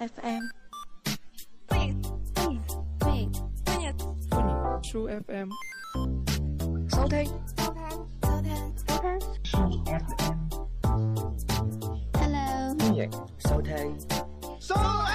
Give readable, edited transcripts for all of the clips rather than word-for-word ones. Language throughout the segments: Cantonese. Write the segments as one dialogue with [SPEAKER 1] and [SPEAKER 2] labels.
[SPEAKER 1] FM。
[SPEAKER 2] 歡迎
[SPEAKER 3] True FM
[SPEAKER 2] 收聽。
[SPEAKER 1] Hello，
[SPEAKER 4] 歡迎收聽
[SPEAKER 5] True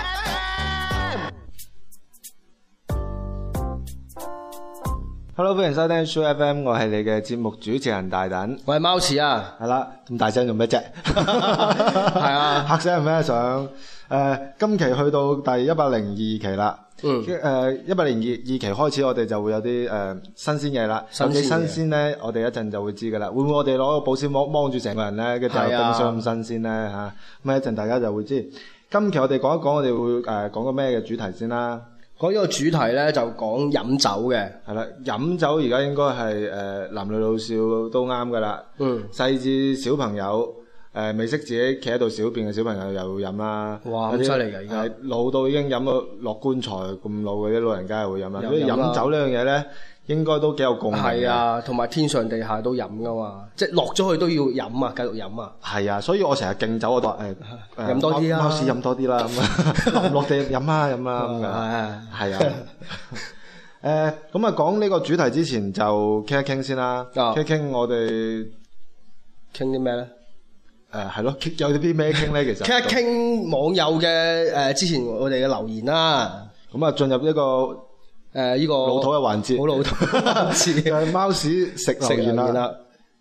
[SPEAKER 5] FM。Hello， 歡迎收聽 True FM， 我係你嘅節目主持人大躉，
[SPEAKER 4] 我係貓屎啊，
[SPEAKER 5] 係啦，咁大聲做咩啫？
[SPEAKER 4] 係啊，
[SPEAKER 5] 嚇死人咩？想今期去到第102期啦。102期開始，我哋就會有啲新鮮嘢啦。有幾新鮮咧？我哋一陣就會知噶啦。會唔會我哋攞個保鮮膜芒住成個人咧？跟住就冰箱咁新鮮咧嚇？咁一陣大家就會知。今期我哋講一講，我哋會講個咩嘅主題先啦。
[SPEAKER 4] 講呢個主題咧就講飲酒嘅。係啦，
[SPEAKER 5] 飲酒而家應該係男女老少都啱噶啦。細至小朋友。未識自己企喺度小便嘅小朋友又會飲啦，
[SPEAKER 4] 哇咁犀利㗎！而家
[SPEAKER 5] 老到已經飲到落棺材咁老嘅啲老人家又會飲啦，所以飲酒呢樣嘢咧，應該都幾有共鳴嘅。係
[SPEAKER 4] 啊，同埋天上地下都飲噶嘛，即係落咗去都要飲啊，繼續飲啊。係
[SPEAKER 5] 啊，所以我成日敬酒，我都
[SPEAKER 4] 飲多啲啊，
[SPEAKER 5] 貓屎飲多啲啦，咁落地飲啦咁啦，係啊。咁啊，講呢個主題之前就傾一傾先啦，傾一傾我哋
[SPEAKER 4] 傾啲咩咧？
[SPEAKER 5] 係咯，有啲咩傾咧？其實
[SPEAKER 4] 傾一傾網友嘅之前我哋嘅留言啦。
[SPEAKER 5] 咁啊，進入一個
[SPEAKER 4] 呢個
[SPEAKER 5] 老土嘅環節，
[SPEAKER 4] 好老土嘅環節，
[SPEAKER 5] 就係貓屎食留言啦。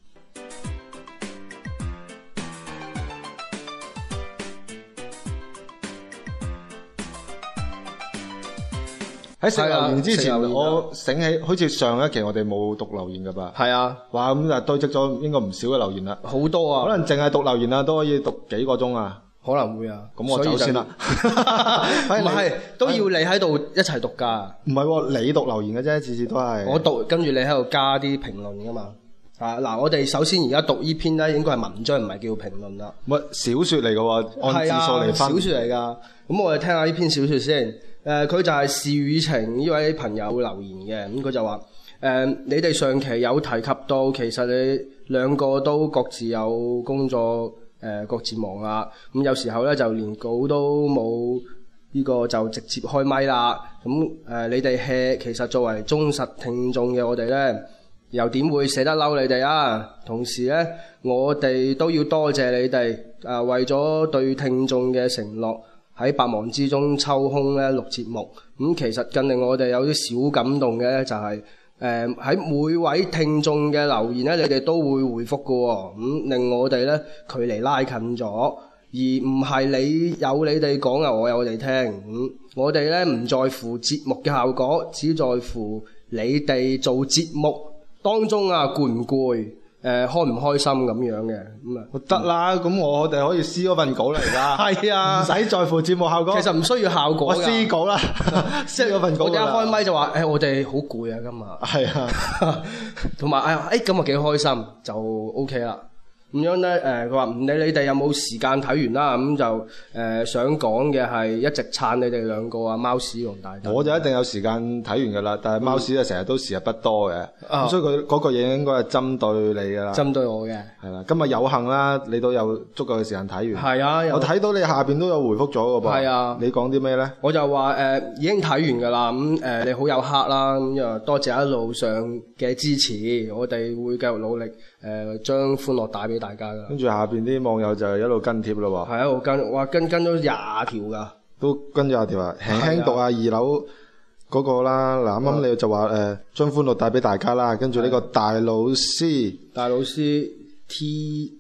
[SPEAKER 5] 喺食留言之前，我醒起，好似上一期我哋冇讀留言噶吧？
[SPEAKER 4] 係啊，
[SPEAKER 5] 哇咁就堆積咗應該唔少嘅留言啦，
[SPEAKER 4] 好多啊，
[SPEAKER 5] 可能淨係讀留言啊都可以讀幾個鐘啊，
[SPEAKER 4] 可能會啊。
[SPEAKER 5] 咁我走先啦，
[SPEAKER 4] 唔係都要你喺度一齊讀噶？
[SPEAKER 5] 唔係，你讀留言嘅啫，次次都係
[SPEAKER 4] 我讀，跟住你喺度加啲評論噶嘛。嗱，我哋首先而家讀呢篇咧，應該係文章，唔係叫評論啦。
[SPEAKER 5] 乜小說嚟嘅喎，按字數嚟分。
[SPEAKER 4] 小說嚟噶。咁我哋聽下呢篇小說先。佢就係事與情呢位朋友留言嘅。咁佢就話你哋上期有提及到，其實你兩個都各自有工作，各自忙啦。咁有時候咧就連稿都冇，呢個就直接開咪啦。咁你哋 hea，其實作為忠實聽眾嘅我哋咧，又點會捨得嬲你哋啊？同時咧，我哋都要多謝你哋為咗對聽眾嘅承諾，喺百忙之中抽空咧錄節目。其實更令我哋有啲小感動嘅咧，就係喺每位聽眾嘅留言咧，你哋都會回覆㗎喎。令我哋咧距離拉近咗，而唔係你哋講啊，我有我哋聽。我哋咧唔在乎節目嘅效果，只在乎你哋做節目當中攰唔攰，開唔開心咁樣嘅。
[SPEAKER 5] 得啦，咁我哋可以撕嗰份稿嚟㗎。係啊，唔使在乎節目效果。
[SPEAKER 4] 其實唔需要效果㗎。我
[SPEAKER 5] 撕稿啦，撕嗰份稿。
[SPEAKER 4] 我哋一開咪就話我哋好攰啊今日。係啊，同埋咁啊幾開心就 OK 啦。咁樣咧，佢話唔理你哋有冇時間睇完啦，咁就想講嘅係一直撐你哋兩個啊，貓屎同大躉。
[SPEAKER 5] 我就一定有時間睇完㗎啦，但係貓屎就成日都時日不多嘅，所以佢嗰個嘢應該係針對你㗎啦。針對我嘅。係啦，今日有幸啦，你都有足夠嘅時間睇完。係啊，我睇到你下邊都有回覆咗㗎噃。係啊。你講啲咩咧？我就話
[SPEAKER 4] 已經睇完㗎啦，咁你好有黑啦，咁又多謝一路上嘅支持，我哋會繼續努力將歡樂帶俾大家噶。
[SPEAKER 5] 跟住下邊啲網友就一路跟貼咯喎。
[SPEAKER 4] 係一路跟，哇跟咗20條噶。
[SPEAKER 5] 都跟咗20條啊！輕輕讀下2樓嗰個啦。嗱，啱啱你就話將歡樂帶俾大家啦。跟住呢個大老師 T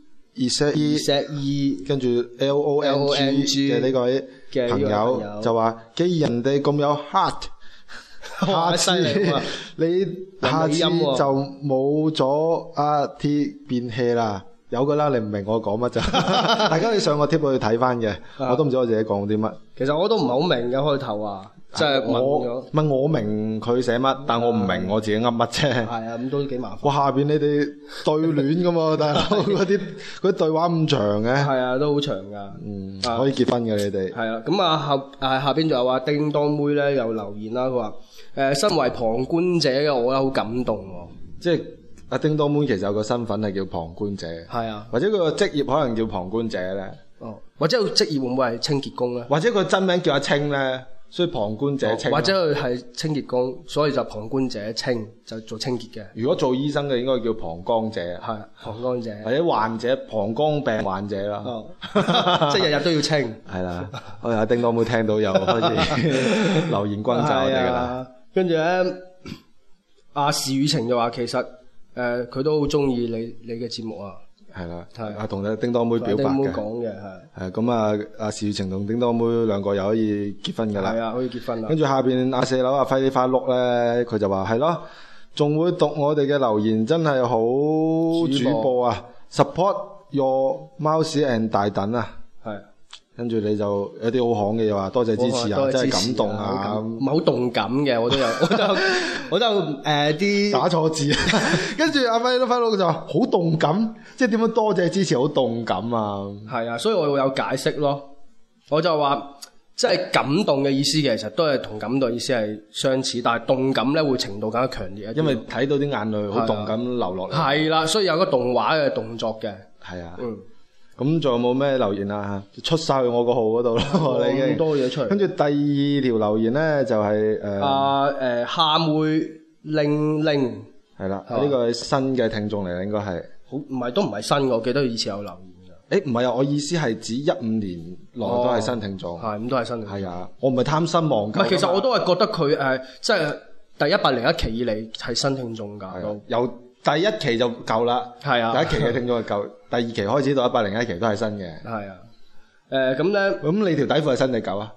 [SPEAKER 5] E 跟住 LONG 嘅呢個朋友就話：既然人哋咁有 heart。下次你下次就冇咗阿 T 變 hea 啦，有噶啦，你唔明我講乜咋？大家你上個貼去睇翻嘅，我都唔知我自己講啲乜。其實我都唔係好明嘅開頭啊，即係我明佢寫乜，但我唔明我自己噏乜啫。係啊，咁都幾麻煩。哇，下邊你哋對聯噶嘛，大佬嗰啲對話咁長嘅。係啊，都好長噶。可以結婚嘅你哋。係啊，咁下邊仲有話叮當妹咧有留言啦，佢話。身為旁觀者嘅我咧好感動喎，即係阿叮當妹其實有個身份係叫旁觀者，係啊，或者佢個職業可能叫旁觀者咧。
[SPEAKER 4] 或者佢職業會唔會係清潔工咧？
[SPEAKER 5] 或者佢真名叫阿清咧，所以旁觀者清。
[SPEAKER 4] 或者佢係清潔工，所以就旁觀者清，就做清潔嘅。
[SPEAKER 5] 如果做醫生嘅應該叫旁觀者，
[SPEAKER 4] 係旁觀者，
[SPEAKER 5] 或者患者膀胱病患者啦。
[SPEAKER 4] 哦，即係日日都要清。
[SPEAKER 5] 係啦，我阿叮當妹聽到又開始留言轟炸我哋㗎啦。
[SPEAKER 4] 跟住咧，阿事與情就話其實佢都好中意你嘅節目啊。
[SPEAKER 5] 係啦，
[SPEAKER 4] 係
[SPEAKER 5] 同阿叮當妹表白嘅。
[SPEAKER 4] 叮當妹講嘅係。
[SPEAKER 5] 咁啊，阿事與情同叮當妹兩個又可以結婚㗎啦。
[SPEAKER 4] 係啊，可以結婚啦。
[SPEAKER 5] 跟住下邊阿4樓阿輝啲花碌咧，佢就話係咯，仲會讀我哋嘅留言，真係好主播啊 ！Support your mouse and 大躉啊！係。跟住你就有啲好行嘅，又話多謝支持啊，真係感動啊！
[SPEAKER 4] 唔係好動感嘅，我都有，我都啲
[SPEAKER 5] 打錯字。跟住阿輝啲花碌就話好動感，即係點樣多謝支持好動感啊！
[SPEAKER 4] 係啊，所以我會有解釋咯。我就話即係感動嘅意思，其實都係同感動意思係相似，但係動感咧會程度更加強烈一啲，
[SPEAKER 5] 因為睇到啲眼淚好動咁流落嚟。
[SPEAKER 4] 係啦，所以有個動畫嘅動作嘅。
[SPEAKER 5] 係啊。咁仲有冇咩留言啊？出晒去我個號嗰度咯，你已經
[SPEAKER 4] 咁多嘢出嚟。
[SPEAKER 5] 跟住第二條留言咧就係
[SPEAKER 4] 夏妹令令
[SPEAKER 5] 係啦，呢個係新嘅聽眾嚟，應該係
[SPEAKER 4] 好都唔係新嘅，我記得以前有留言㗎。
[SPEAKER 5] 唔係啊，我意思係指15年內都係新聽眾。
[SPEAKER 4] 係咁都係新。係
[SPEAKER 5] 啊，我唔係貪新忘舊。
[SPEAKER 4] 其實我都係覺得佢即係第101期以嚟係新聽眾㗎。
[SPEAKER 5] 由第一期就夠啦。係啊，第一期嘅聽眾就夠。第二期開始到101期都係新嘅。係啊。咁咧。咁你條底褲係新定舊啊？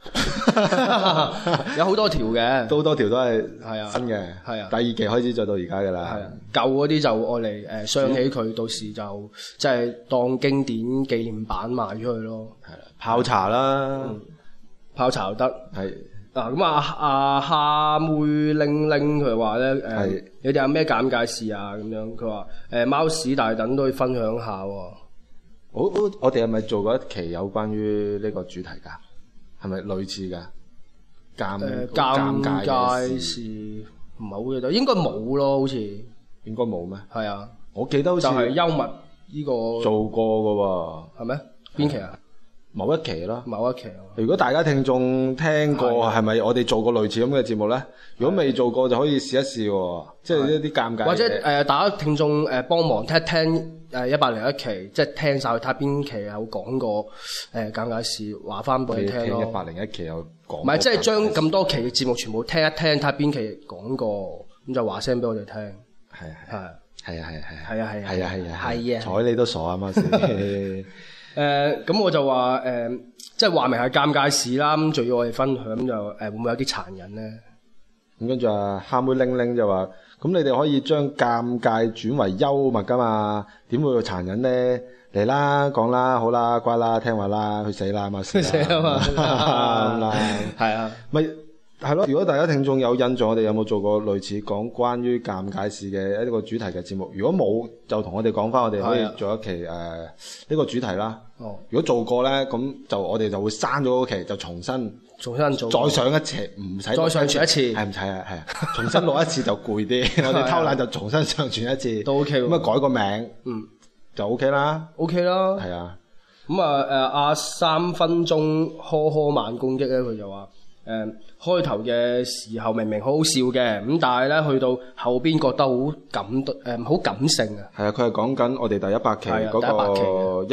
[SPEAKER 4] 有好多條嘅。都好多條都係
[SPEAKER 5] 新嘅。係啊。第二期開始再到而家㗎啦。係啊。舊
[SPEAKER 4] 嗰啲就愛嚟傷起佢，到時就即係當經典紀念版賣出去咯。係啦。
[SPEAKER 5] 泡茶啦。
[SPEAKER 4] 泡茶又得。係。嗱咁夏妹令令佢話咧你哋有咩尷尬事啊？咁樣佢話貓屎大躉都可以分享下喎。
[SPEAKER 5] 我哋係咪做過一期有關於呢個主題㗎？係咪類似㗎？尷尬事
[SPEAKER 4] 唔係好記得，應該冇咯，好似
[SPEAKER 5] 應該冇咩？
[SPEAKER 4] 係啊，
[SPEAKER 5] 我記得好似
[SPEAKER 4] 就係幽默呢個
[SPEAKER 5] 做過㗎喎。
[SPEAKER 4] 係咩？邊期啊？
[SPEAKER 5] 某一期咯，
[SPEAKER 4] 某一期。
[SPEAKER 5] 如果大家聽眾聽過，係咪我哋做過類似咁嘅節目咧？如果未做過，就可以試一試喎，即係一啲尷尬。
[SPEAKER 4] 或者大家聽眾幫忙聽一聽101期，即係聽晒睇下邊期有講過尷尬事，話翻俾你聽咯。
[SPEAKER 5] 聽101期有講。
[SPEAKER 4] 唔係，即係將咁多期嘅節目全部聽一聽，睇下邊期講過，咁就話聲俾我哋聽。係啊，
[SPEAKER 5] 睬你都傻啊嘛先。
[SPEAKER 4] 咁我就話即係話明係尷尬事啦，咁仲要我哋分享，咁就會唔會有啲殘忍咧？
[SPEAKER 5] 咁跟住夏妹玲玲就話：咁你哋可以將尷尬轉為幽默噶嘛？點會殘忍咧？嚟啦，講啦，好啦，乖啦，聽話啦，去死啦，去死啊嘛！咁啦，係啊，咪係咯。如果大家聽眾有印象，我哋有冇做過類似講關於尷尬事嘅一個主題嘅節目？如果冇，就同我哋講翻，我哋可以做一期呢個主題啦。如果做過咧，咁就我哋就會刪咗嗰期，就重新做，再上一期，唔使
[SPEAKER 4] 再上傳一次，
[SPEAKER 5] 係唔使啊？係啊，重新錄一次就攰啲。我哋偷懶就重新上傳一次，
[SPEAKER 4] 都 OK。咁
[SPEAKER 5] 改個名，就 OK 啦。
[SPEAKER 4] OK 啦。
[SPEAKER 5] 係啊。
[SPEAKER 4] 咁阿3分鐘呵慢攻擊咧，佢就話開頭嘅時候明明好好笑嘅，咁但係咧去到後邊覺得好感性啊。係啊，
[SPEAKER 5] 佢係講緊我哋第100期嗰個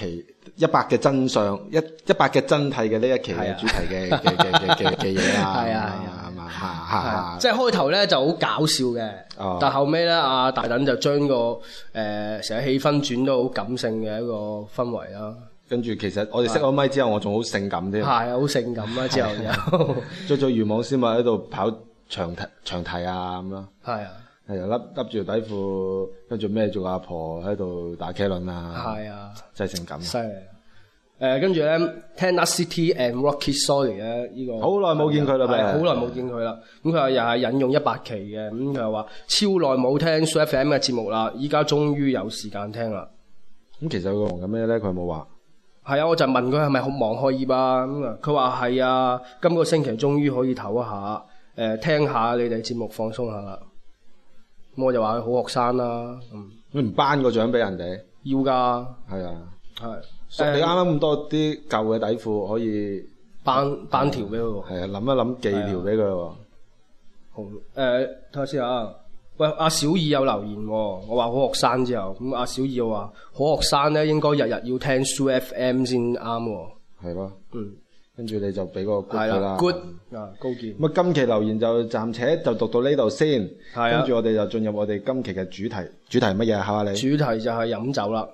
[SPEAKER 5] 100嘅真相100嘅真諦嘅呢一期嘅主題嘅嘢啊。係啊，
[SPEAKER 4] 即係開頭咧就好搞笑嘅，但後尾咧阿大躉就將個成個氣氛轉到好感性嘅一個氛圍啦。
[SPEAKER 5] 跟住其實我哋熄咗咪之後，我仲好性感添。
[SPEAKER 4] 係啊，好性感啊！之後又
[SPEAKER 5] 着魚網絲襪喺度跑長堤啊咁咯。係啊，又笠住條底褲，跟住孭住個阿婆喺度打茄輪啊。係啊，真係性感。犀利。
[SPEAKER 4] 跟住咧聽 City and Rocky Solid 咧，呢個
[SPEAKER 5] 好耐冇見佢啦，
[SPEAKER 4] 好耐冇見佢啦。咁佢話又係引用100期嘅，咁佢又話超耐冇聽 SooFM 嘅節目啦，依家終於有時間聽啦。
[SPEAKER 5] 咁其實佢忙緊咩咧？佢有冇話？
[SPEAKER 4] 係啊，我就問佢係咪好忙學業啊？咁啊，佢話係啊，今個星期終於可以唞一下，聽下你哋節目放鬆下啦。咁我就話佢好學生啦。
[SPEAKER 5] 你唔頒個獎俾人哋？
[SPEAKER 4] 要㗎。
[SPEAKER 5] 係啊。 係你啱啱咁多啲舊嘅底褲可以
[SPEAKER 4] 班條俾佢喎。
[SPEAKER 5] 係啊，諗一諗寄條俾佢喎。
[SPEAKER 4] 好睇下先啊。喂，阿小二有留言喎，我話好學生之後，咁阿小二又話好學生咧應該日日要聽 Soo FM 先啱喎。
[SPEAKER 5] 係咯。
[SPEAKER 4] 嗯。
[SPEAKER 5] 跟住你就俾個 good 佢啦。
[SPEAKER 4] good 啊，高見。
[SPEAKER 5] 咁啊，今期留言就暫且就讀到呢度先。
[SPEAKER 4] 係啊。
[SPEAKER 5] 跟住我哋就進入我哋今期嘅主題。主題乜嘢？考下你。
[SPEAKER 4] 主題就係飲酒啦。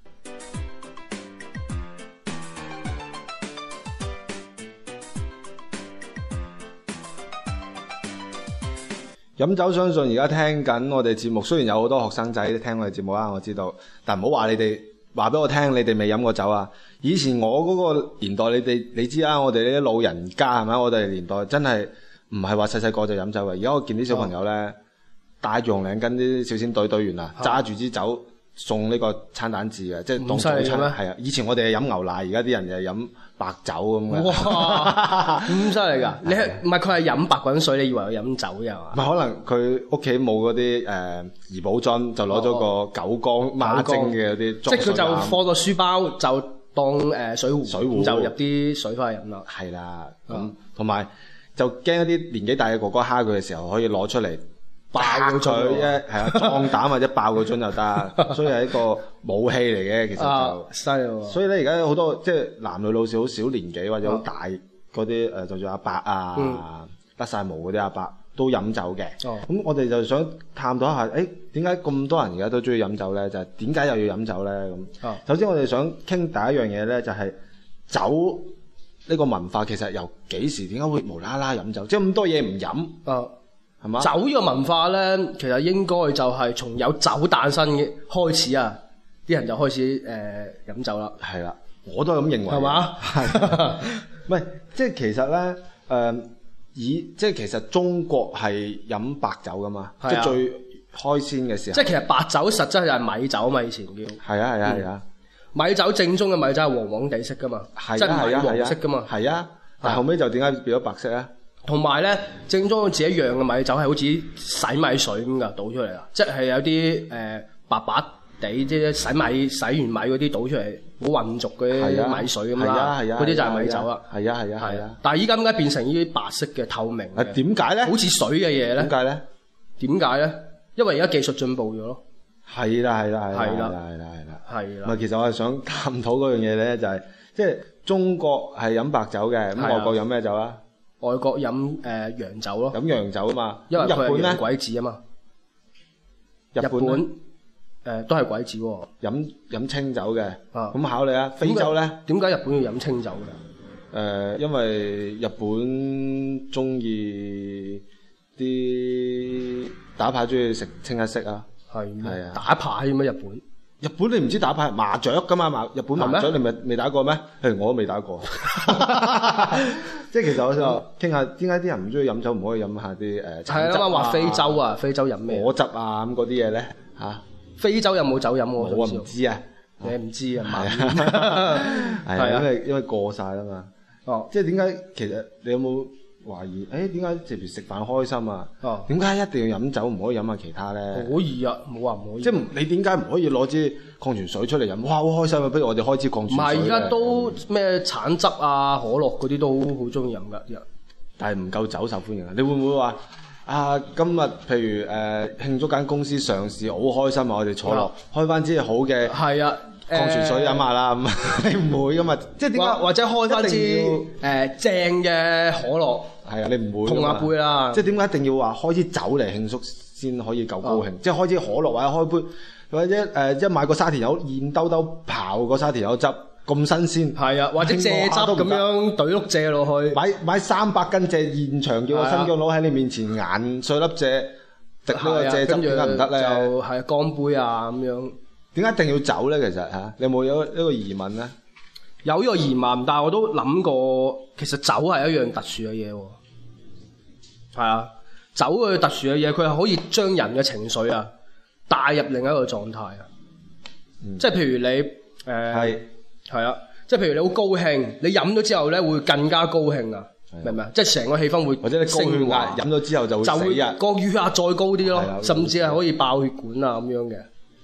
[SPEAKER 5] 飲酒，相信而家聽緊我哋節目，雖然有好多學生仔聽我哋節目啦，我知道，但唔好話你哋話俾我聽，你哋未飲過酒啊！以前我嗰個年代，你知啦，我哋呢啲老人家係咪？我哋年代真係唔係話細細個就飲酒嘅。而家我見啲小朋友咧，帶住紅領巾啲少先隊員啊，揸住支酒送呢個餐蛋治嘅，即係當早餐。係啊，以前我哋係飲牛奶，而家啲人就係飲白酒咁嘅。
[SPEAKER 4] 哇，咁犀利㗎！你唔係佢係飲白滾水，你以為佢飲酒嘅係嘛？
[SPEAKER 5] 唔係，可能佢屋企冇嗰啲怡寶樽，就攞咗個九江孖蒸嘅嗰啲，
[SPEAKER 4] 即係佢就放個書包，就當水壺，就入啲水翻去飲啦。
[SPEAKER 5] 係啦，咁同埋就驚一啲年紀大嘅哥哥蝦佢嘅時候，可以攞出嚟爆佢啫，係啊，壯膽或者爆個樽就得，所以係一個武器嚟嘅，其實就
[SPEAKER 4] 犀利喎。
[SPEAKER 5] 所以咧，而家有好多即係男女老少好少年紀或者好大嗰啲就算阿伯啊，甩晒毛嗰啲阿伯都飲酒嘅。咁我哋就想探討一下，點解咁多人而家都中意飲酒咧？就係點解又要飲酒咧？咁首先我哋想傾第一樣嘢咧，就係酒呢個文化其實由幾時點解會無啦啦飲酒？即係咁多嘢唔飲。係嘛？酒呢個文化咧，其實應該就係從有酒誕生嘅開始啊，啲人就開始飲酒啦。係啦，我都係咁認為。係嘛？係。唔係，即係其實咧，即係其實中國係飲白酒噶嘛，即係最開先嘅時候。即係其實白酒實質就係米酒嘛，以前叫。係啊係啊係啊！米酒正宗嘅米酒係黃黃地色噶嘛，即係米黃色噶嘛。係啊，但後尾就點解變咗白色啊？同埋咧，正宗自己釀嘅米酒係好似洗米水咁噶，倒出嚟啦，即係有啲白白地即係洗完米嗰啲倒出嚟，好渾濁嗰啲米水咁啦，嗰啲就係米酒啦。係啊係啊係啊！但係依家點解變成呢啲白色嘅透明嘅？點解咧？好似水嘅嘢咧？點解咧？點解咧？因為而家技術進步咗咯。係啦係啦係啦係啦係啦係啦係啦。唔係，其實我係想探討嗰樣嘢咧，就係即係中國係飲白酒嘅，咁外國飲咩酒啊？外國飲洋酒咯，飲洋酒啊嘛，因為佢係洋鬼子啊嘛。日本都係鬼子喎，飲清酒嘅。咁考你啊，非洲咧？點解日本要飲清酒嘅？因為日本中意啲打牌，中意食清一色啊。係咩？係啊，打牌咩？日本？日本你唔知打牌麻雀噶嘛？日本麻雀你咪未打過咩？我都未打過。即係其實我想傾下點解啲人唔中意飲酒，唔可以飲下啲橙汁啊？話非洲啊，非洲飲咩？果汁啊咁嗰啲嘢咧嚇？非洲有冇酒飲我唔知啊，你唔知啊？係啊，因為過晒啦嘛。哦，即係點解其實你有冇懷疑？點解直接食飯開心啊？點解一定要飲酒，唔可以飲下其他咧？可以啊，冇話唔可以。即係你點解唔可以攞支礦泉水出嚟飲？哇，好開心啊！不如我哋開支礦泉水。唔係，而家都咩橙汁啊、可樂嗰啲都好中意飲㗎。但係唔夠酒受歡迎啊！你會唔會話今日譬如慶祝間公司上市，好開心啊！我哋坐落開翻支好嘅係啊礦泉水飲下啦咁，你唔會㗎嘛？即係點解？或者開翻支正嘅可樂？係啊，你唔會碰下杯啦。即係點解一定要話開支酒嚟慶祝先可以夠高興？即係開支可樂或者開杯，或者一買個沙田柚現兜兜刨個沙田柚汁咁新鮮。係啊，或者蔗汁咁樣懟碌蔗落去。買300斤蔗，現場叫個新疆佬喺你面前研碎粒蔗，滴呢個蔗汁，點解唔得咧？就係乾杯啊咁樣。點解一定要酒咧？其實嚇，你有冇呢個疑問咧？有呢個疑問，但係我都諗過，其實酒係一樣特殊嘅嘢喎。係啊，酒嘅特殊嘅嘢，佢係可以將人嘅情緒啊帶入另一個狀態啊。即係譬如你係啊，即係譬如你好高興，你飲咗之後咧會更加高興啊，明唔明？即係成個氣氛會或者你高血壓飲咗之後就會死啊，個血壓再高啲咯，甚至係可以爆血管啊咁樣嘅。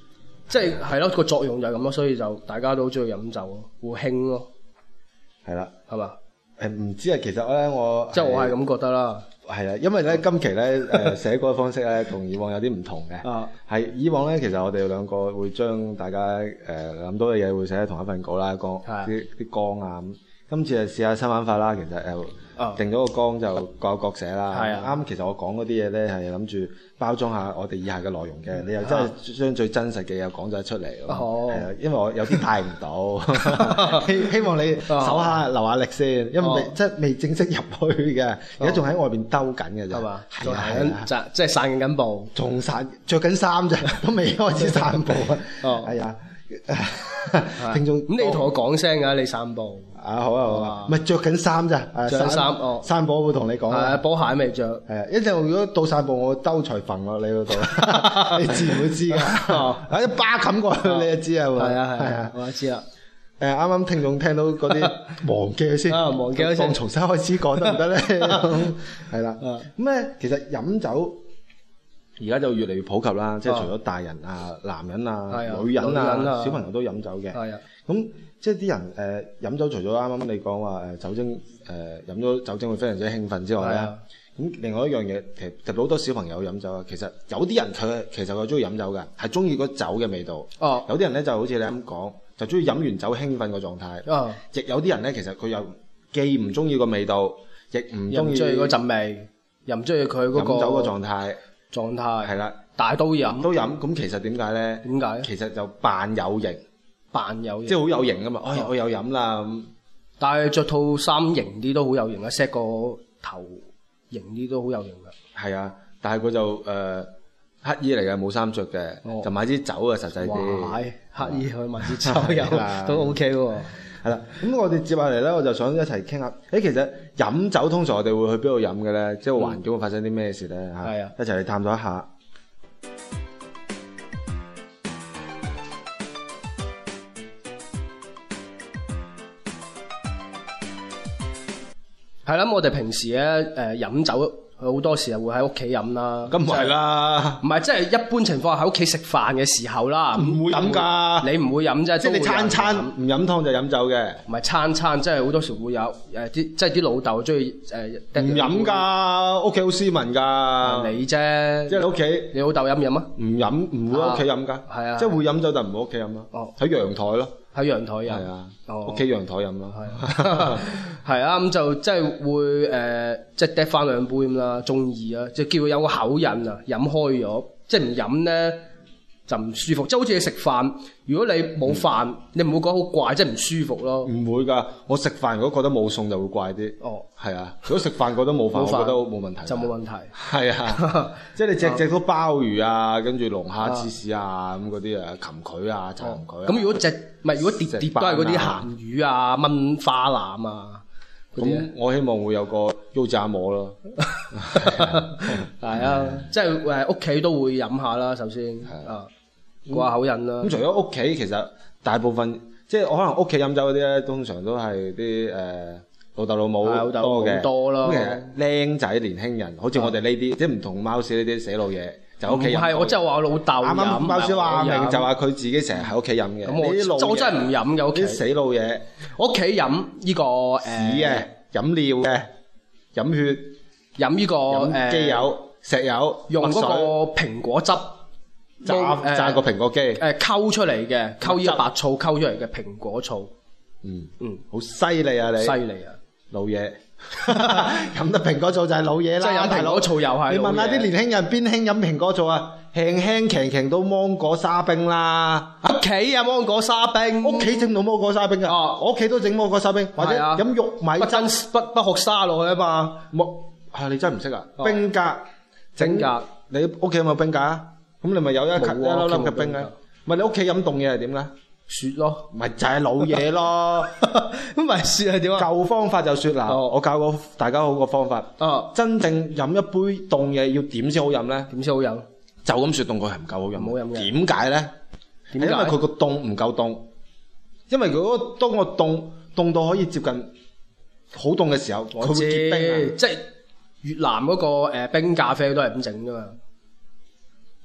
[SPEAKER 4] 即係咯個作用就係咁咯，所以就大家都好中意飲酒咯，會興咯，
[SPEAKER 5] 係啦，
[SPEAKER 4] 係嘛？
[SPEAKER 5] 唔知啊，其實咧我
[SPEAKER 4] 即係我係咁覺得啦。
[SPEAKER 5] 係啊，因為咧今期咧寫歌嘅方式咧同以往有啲唔同嘅。係以往咧，其實我哋兩個會將大家諗到嘅嘢會寫喺同一份稿啦，講啲綱啊咁。今次就試下新玩法啦，其實定咗個綱就各有各寫啦。啱，其實我講嗰啲嘢咧係諗住包裝下我哋以下嘅內容嘅，你又真係將最真實嘅嘢講咗出嚟。係啊，因為我有啲帶唔到，希望你手下留下力先，因為即係未正式入去嘅，而家仲喺外邊兜緊嘅啫。係嘛？係啊，
[SPEAKER 4] 即係散緊步，
[SPEAKER 5] 仲着緊衫啫，都未開始散步啊。係啊。聽眾
[SPEAKER 4] 咁你同我講聲㗎，你散步
[SPEAKER 5] 好啊，唔係着緊衫咋，
[SPEAKER 4] 着緊衫
[SPEAKER 5] 散步我會同你講。
[SPEAKER 4] 係波鞋未着。
[SPEAKER 5] 係啊，一陣如果到散步，我兜除揈落你嗰度，你自然會知㗎。一巴冚過去你就知啊。
[SPEAKER 4] 係啊，我知啦。
[SPEAKER 5] 啱啱聽眾聽到嗰啲忘記先，
[SPEAKER 4] 忘記先，
[SPEAKER 5] 重新開始講得唔得咧？係啦，咁咧其實飲酒。而家就越嚟越普及啦，即係除咗大人啊、男人啊、女人啊、小朋友都飲酒嘅。係啊，咁即係啲人飲酒，除咗啱啱你講話酒精飲咗酒精會非常之興奮之外咧，咁另外一樣嘢其實好多小朋友飲酒啊，其實有啲人佢其實佢中意飲酒嘅，係中意嗰酒嘅味道。有啲人咧就好似你咁講，就中意飲完酒興奮個狀態。亦有啲人咧其實佢又既唔中意個味道，亦唔中意
[SPEAKER 4] 嗰陣味，又唔中意佢嗰個
[SPEAKER 5] 飲酒個狀態係啦，
[SPEAKER 4] 但係都飲，
[SPEAKER 5] 咁其實點解咧？點解？其實就扮有型，即係好有型㗎嘛！我有飲啦咁，
[SPEAKER 4] 但係着套衫型啲都好有型啊 ，set 個頭型啲都好有型㗎。
[SPEAKER 5] 係啊，但係佢就乞衣嚟嘅，冇衫着嘅，就買支酒啊，實際啲。
[SPEAKER 4] 乞衣去買支酒飲都 OK 喎。
[SPEAKER 5] 係啦，咁我哋接下嚟咧，我就想一齊傾下。其實飲酒通常我哋會去邊度飲嘅咧？即係環境會發生啲咩事咧？係啊，一齊嚟探討一下。
[SPEAKER 4] 係啦，我哋平時咧飲酒。好多時候會喺屋企飲啦，
[SPEAKER 5] 咁唔係啦，
[SPEAKER 4] 唔係即係一般情況下喺屋企食飯嘅時候啦，
[SPEAKER 5] 唔會飲㗎，
[SPEAKER 4] 你唔會飲啫，
[SPEAKER 5] 即係你餐唔飲湯就飲酒嘅，
[SPEAKER 4] 唔係餐即係好多時會有即係啲老豆中意
[SPEAKER 5] 唔飲㗎，屋企好斯文㗎，
[SPEAKER 4] 你啫，
[SPEAKER 5] 即係你屋企，
[SPEAKER 4] 你老豆飲唔飲啊？
[SPEAKER 5] 唔飲，唔會喺屋企飲㗎，係啊，即係會飲酒但唔會屋企飲咯，喺陽台咯。
[SPEAKER 4] 喺陽台飲，
[SPEAKER 5] 係啊，屋企陽台飲咯，
[SPEAKER 4] 係啊，咁就即係會即係嗒翻兩杯咁啦，中意啊，即係叫佢有個口癮啊，飲開咗，即係唔飲咧就唔舒服，即係好似你食飯，如果你冇飯，你唔會覺得好怪，即係唔舒服咯。唔
[SPEAKER 5] 會㗎，我食飯如果覺得冇餸就會怪啲。係啊，如果食飯覺得冇飯，我覺得冇問題。
[SPEAKER 4] 就冇問題。
[SPEAKER 5] 係啊，即係你隻都鮑魚啊，跟住龍蝦芝士啊咁嗰啲啊，蠄蟝啊，柴蠄蟝。
[SPEAKER 4] 咁如果碟都係嗰啲鹹魚啊、炆花腩啊，
[SPEAKER 5] 咁我希望會有個腰炸饃咯。
[SPEAKER 4] 係啊，即係屋企都會飲下啦，首先過下口癮啦。
[SPEAKER 5] 咁除咗屋企，其實大部分即係可能屋企飲酒嗰啲咧，通常都係啲老豆老母多嘅。咁其實僆仔年輕人，好似我哋呢啲，即係唔同貓屎呢啲死老嘢，就屋企飲。唔係，
[SPEAKER 4] 我真係話我老豆飲。啱啱
[SPEAKER 5] 貓屎話明就話佢自己成日喺屋企飲嘅。
[SPEAKER 4] 咁我真係唔飲嘅屋企。
[SPEAKER 5] 啲死老嘢，
[SPEAKER 4] 我屋企飲呢個
[SPEAKER 5] 屎嘅，飲尿嘅，飲血，
[SPEAKER 4] 飲呢個
[SPEAKER 5] 機油、石油，
[SPEAKER 4] 用嗰個蘋果汁。
[SPEAKER 5] 榨個蘋果機，
[SPEAKER 4] 溝出嚟嘅，溝呢個白醋溝出嚟嘅蘋果醋。
[SPEAKER 5] 好犀利啊你！
[SPEAKER 4] 犀利啊，
[SPEAKER 5] 老嘢，飲得蘋果醋就係老嘢啦。
[SPEAKER 4] 即係飲蘋果醋又係。
[SPEAKER 5] 你問下啲年輕人邊興飲蘋果醋啊？輕強到芒果沙冰啦。
[SPEAKER 4] 屋企啊，芒果沙冰。
[SPEAKER 5] 屋企整到芒果沙冰㗎。我屋企都整芒果沙冰，或者飲玉米汁
[SPEAKER 4] 不學沙落去啊嘛。
[SPEAKER 5] 你真係唔識啊？冰格整格，你屋企有冇冰格啊？咁你咪有一粒粒嘅冰嘅，咪你屋企飲凍嘢係點咧？
[SPEAKER 4] 雪咯，
[SPEAKER 5] 咪就係老嘢咯。
[SPEAKER 4] 咁咪雪係點啊？
[SPEAKER 5] 舊方法就雪嗱，我教過大家好個方法。真正飲一杯凍嘢要點先好飲咧？
[SPEAKER 4] 點先好飲？
[SPEAKER 5] 就咁雪凍佢係唔夠好飲。唔好飲嘅。點解咧？因為佢個凍唔夠凍。因為如果當個凍到可以接近好凍嘅時候，佢會結冰啊。
[SPEAKER 4] 即係越南嗰個冰咖啡都係咁整㗎嘛。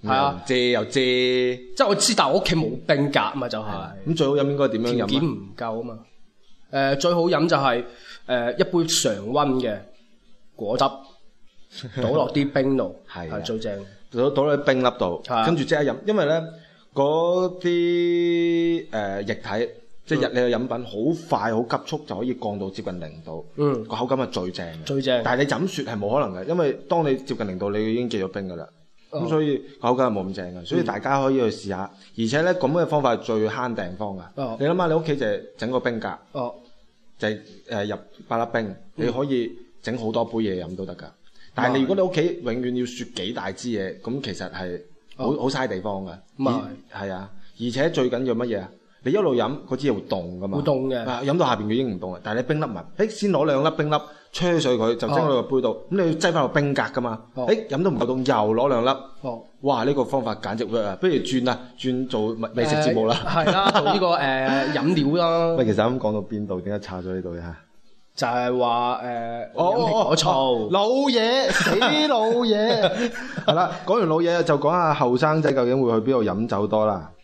[SPEAKER 4] 係啊，
[SPEAKER 5] 借又借，
[SPEAKER 4] 即係我知，但係我屋企冇冰格啊嘛，就係
[SPEAKER 5] 咁最好飲應該點樣飲啊？
[SPEAKER 4] 條件唔夠啊嘛。最好飲就係一杯常溫嘅果汁，倒落啲冰度，係最正。
[SPEAKER 5] 倒落冰粒度，跟住即刻飲，因為咧嗰啲液體。即係你嘅飲品好快好急速就可以降到接近0度，個口感係最正嘅。最正。但係你飲雪係冇可能嘅，因為當你接近0度，你已經結咗冰㗎啦。咁所以個口感係冇咁正嘅，所以大家可以去試下。而且咧咁嘅方法係最慳地方㗎。你諗下，你屋企就係整個冰格，就係入8粒冰，你可以整好多杯嘢飲都得㗎。但係你如果你屋企永遠要雪幾大支嘢，咁其實係好嘥地方㗎。係啊，而且最緊要乜嘢啊？你一路飲嗰支嘢會凍噶嘛？會凍嘅。飲到下邊佢已經唔凍啦，但係你冰粒埋，先攞2粒冰粒吹碎佢，就蒸到個杯度。咁你要擠翻落冰格噶嘛？飲到唔夠凍，又攞2粒。哇！呢個方法簡直 work 啊！不如轉做美食節目啦。係啦，做呢個飲料啦。喂，其實啱講到邊度？點解插咗呢度呀？就係話飲蘋果醋。老嘢，死老嘢。係啦，講完老嘢就講下後生仔究竟會去邊度飲酒多啦。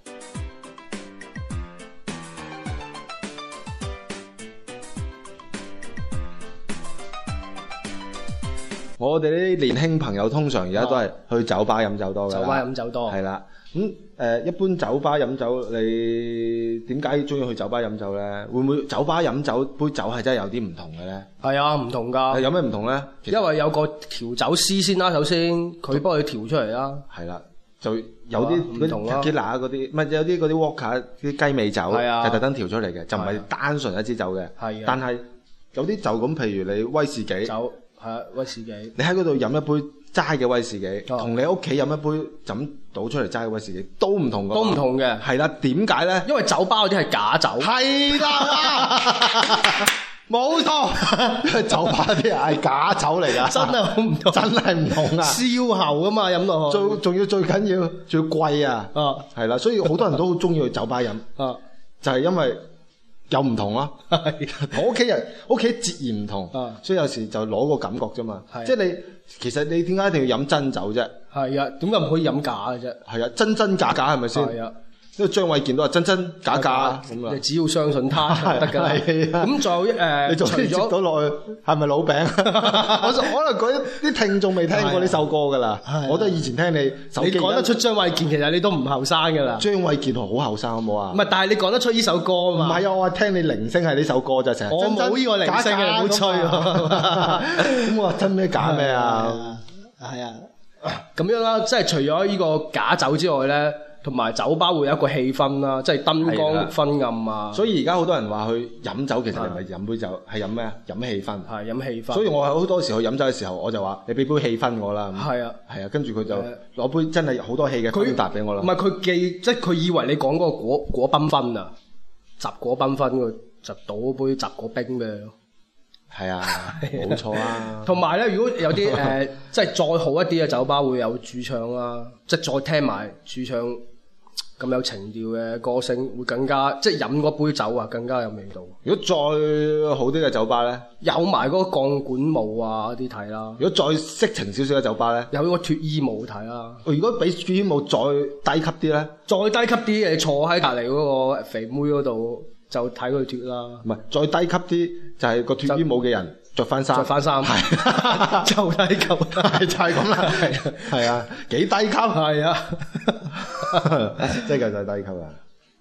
[SPEAKER 5] 我哋啲年輕朋友通常而家都係去酒吧飲酒多嘅。酒吧飲酒多。係啦，咁一般酒吧飲酒，你點解中意去酒吧飲酒咧？會唔會酒吧飲酒杯酒係真係有啲唔同嘅咧？係啊，唔同㗎。有咩唔同咧？因為有個調酒師先啦，首先佢幫佢調出嚟啦。係啦，就有啲唔同咯。tequila嗰啲，唔係有啲嗰啲 vodka 啲雞尾酒，係特登調出嚟嘅，就唔係單純一支酒嘅。係。但係有啲酒咁，譬如你威士忌。酒。係啊，威士忌。你喺嗰度飲一杯齋嘅威士忌，同你屋企飲一杯就咁倒出嚟齋嘅威士忌都唔同㗎。都唔同嘅。係啦，點解咧？因為酒吧嗰啲係假酒。係啦，冇錯。因為酒吧啲係假酒嚟㗎。真係好唔同。真係唔同啊！燒喉㗎嘛，飲落去。仲要最緊要，仲要貴啊！係啦，所以好多人都好中意去酒吧飲。就係因為。有唔同咯，同屋企人屋企截然唔同，所以有時就攞個感覺啫嘛。即係其實你點解一定要飲真酒啫？係啊，點解唔可以飲假嘅啫？係啊，真真假假係咪先？係啊，因為張衛健都話真真假假咁啊。你只要相信他就得㗎啦。咁仲有你仲可以接到落去係咪老餅？我可能嗰啲聽眾未聽過呢首歌㗎啦。我都係以前聽你手機。你講得出張衛健，其實你都唔後生㗎啦。張衛健好後生好冇啊？唔係，但係你講得出呢首歌啊嘛。唔係啊，我話聽你鈴聲係呢首歌就成日。我冇呢個鈴聲嘅，你唔好吹喎。咁我話真咩假咩啊？係啊，咁樣啦，即係除咗呢個假酒之外咧。同埋酒吧會有一個氣氛啦，即係燈光昏暗啊。所以而家好多人話去飲酒，其實你唔係飲杯酒，係飲咩啊？飲氣氛。係飲氣氛。所以我好多時去飲酒嘅時候，我就話你俾杯氣氛我啦。係啊，係啊，跟住佢就攞杯真係好多氣嘅芬達俾我啦。唔係佢即係佢以為你講嗰個果繽紛啊，雜果繽紛佢就倒杯雜果冰俾你咯。係啊，冇錯啊。同埋咧，如果有啲即係再好一啲嘅酒吧會有駐唱啦，即係再聽埋駐唱。咁有情調嘅歌聲會更加，即係飲嗰杯酒啊，更加有味道。如果再好啲嘅酒吧咧，有埋嗰個鋼管舞啊啲睇啦。如果再色情少少嘅酒吧咧，有個脫衣舞睇啦。如果比脫衣舞再低級啲咧，再低級啲嘅坐喺隔離嗰個肥妹嗰度就睇佢脫啦。唔係，再低級啲就係個脫衣舞嘅人着翻衫，係就低級，係就係咁啦。係啊，幾低級係啊。真係就係低級啦！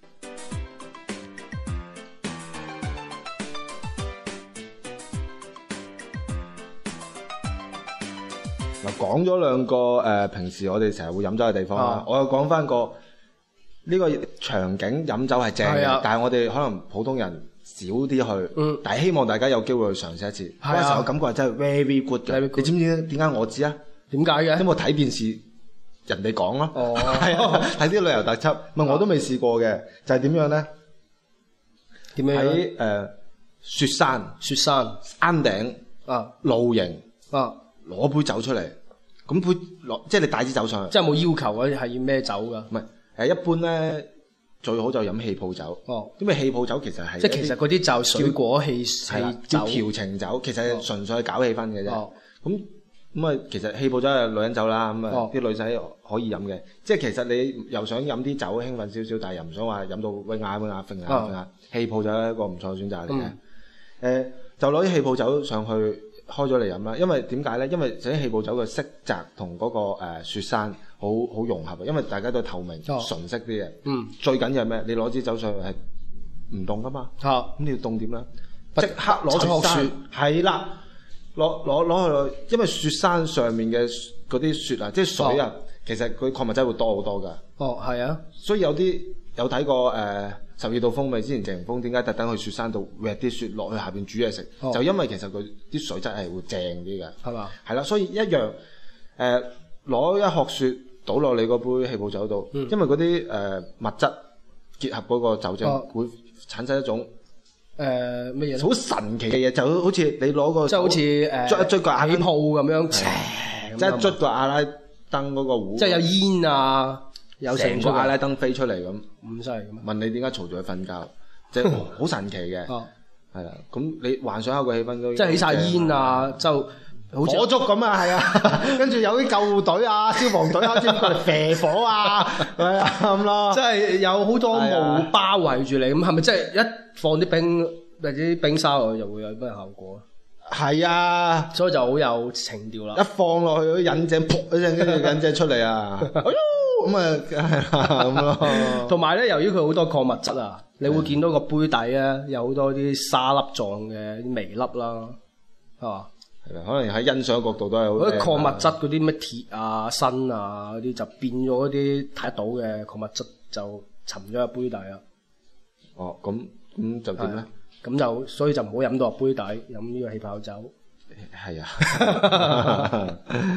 [SPEAKER 5] 嗱，講咗兩個平時我哋成日會飲酒嘅地方啦，我又講翻個呢個場景飲酒係正嘅，但係我哋可能普通人少啲去，但係希望大家有機會去嘗試一次。嗰陣時我感覺係真係 very good 嘅。你知唔知點解我知啊？點解嘅？因為我睇電視。人哋講咯，係啊，睇啲旅遊特輯，我都未試過嘅，就係點樣咧？點樣喺雪山山頂露營攞杯酒出嚟，咁即係你帶支酒上去，即係冇要求嗰啲係要咩酒㗎？唔係一般咧最好就飲氣泡酒，因為氣泡酒其實係即係其實嗰啲就水果氣酒叫調情酒，其實係純粹係搞氣氛嘅啫。咁咁啊，其實氣泡酒係女人酒啦，咁啊啲女仔可以飲嘅。即係其實你又想飲啲酒興奮少少，但係又唔想話飲到威亞揈下，氣泡酒係一個唔錯嘅選擇嚟嘅。就攞啲氣泡酒上去開咗嚟飲啦。因為點解咧？因為首先氣泡酒嘅色澤同嗰個雪山好融合，因為大家都透明純色啲嘅。最緊要係咩？你攞支酒上去係唔凍噶嘛？咁你要凍點咧？即刻攞雪，係啦。攞去，因為雪山上面嘅嗰啲雪啊，即係水啊，其實佢礦物質會多好多噶。
[SPEAKER 4] 係啊，
[SPEAKER 5] 所以有睇過12度風味之前謝霆鋒點解特登去雪山度搣啲雪落去下邊煮嘢食，就因為其實佢啲水質係會正啲嘅。係嘛？係啦，所以一樣攞一殼雪倒落你嗰杯氣泡酒度，因為嗰啲物質結合嗰個酒精會產生一種。乜嘢？好神奇嘅嘢，就好似你攞個，
[SPEAKER 4] 即係好似
[SPEAKER 5] 捽一捽個氣
[SPEAKER 4] 泡咁樣，
[SPEAKER 5] 即係捽個阿拉登嗰個壺，
[SPEAKER 4] 即係有煙啊，有成
[SPEAKER 5] 個阿拉登飛出嚟咁。
[SPEAKER 4] 咁犀利嘅咩？
[SPEAKER 5] 問你點解嘈住佢瞓覺？即係好神奇嘅。係啦，咁你幻想下個氣氛都，
[SPEAKER 4] 即係起晒煙啊，就好似
[SPEAKER 5] 火燭咁啊，係啊，跟住有啲救護隊啊、消防隊啊，先過嚟射火啊，係啊咁咯。
[SPEAKER 4] 即係有好多霧包圍住你，咁係咪即係一放啲冰或者啲冰沙落去就會有咩效果啊？
[SPEAKER 5] 係啊，
[SPEAKER 4] 所以就好有情調啦。
[SPEAKER 5] 一放落去，引井噗一聲，跟住引井出嚟啊！哎喲，咁啊，係咁咯。
[SPEAKER 4] 同埋咧，由於佢好多礦物質啊，你會見到個杯底咧有好多啲沙粒狀嘅啲微粒啦，係嘛？
[SPEAKER 5] 可能喺欣賞角度都係好。
[SPEAKER 4] 嗰啲礦物質嗰啲咩鐵啊、砷啊嗰啲就變咗嗰啲睇得到嘅礦物質就沉咗喺杯底啦。
[SPEAKER 5] 咁就點咧？
[SPEAKER 4] 咁就所以就唔好飲到落杯底，飲呢個氣泡酒。
[SPEAKER 5] 係啊。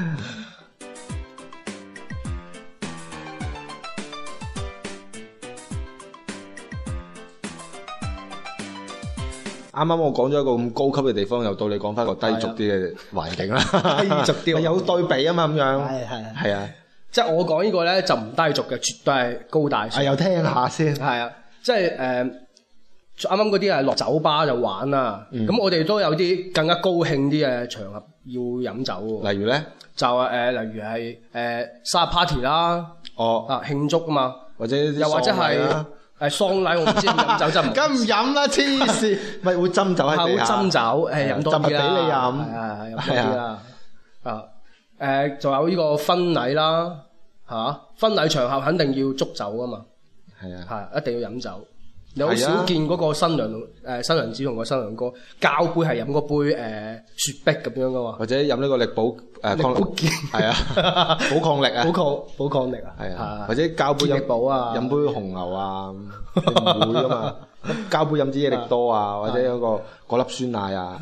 [SPEAKER 5] 啱啱我講咗一個咁高級嘅地方，又到你講翻個低俗啲嘅環境啦。
[SPEAKER 4] 低俗啲，
[SPEAKER 5] 有對比啊嘛，咁樣。係啊，
[SPEAKER 4] 即係我講呢個咧就唔低俗嘅，絕對係高大上。
[SPEAKER 5] 又聽下先。係啊，
[SPEAKER 4] 即係啱啱嗰啲係落酒吧就玩啦。咁我哋都有啲更加高興啲嘅場合要飲酒喎。
[SPEAKER 5] 例如咧，
[SPEAKER 4] 就例如係生日 party 啦。慶祝啊嘛，
[SPEAKER 5] 或者
[SPEAKER 4] 又或者係。喪禮我唔知飲酒真唔，
[SPEAKER 5] 梗唔飲啦，黐線，咪會斟酒喺地下，
[SPEAKER 4] 會斟酒，飲多啲啦，
[SPEAKER 5] 俾你飲，
[SPEAKER 4] 係飲多啲啦，仲有呢個婚禮啦，係嘛？婚禮場合肯定要祝酒噶嘛，係一定要飲酒。你好少見嗰個新娘子同個新娘哥交杯係飲嗰杯雪碧咁樣噶嘛，或
[SPEAKER 5] 者飲呢個力寶抗力，係啊，寶抗力啊，
[SPEAKER 4] 寶抗力啊，
[SPEAKER 5] 係啊，或者交杯
[SPEAKER 4] 力寶啊，
[SPEAKER 5] 飲杯紅牛啊，唔會噶嘛，交杯飲支益力多啊，或者有個粒酸奶啊，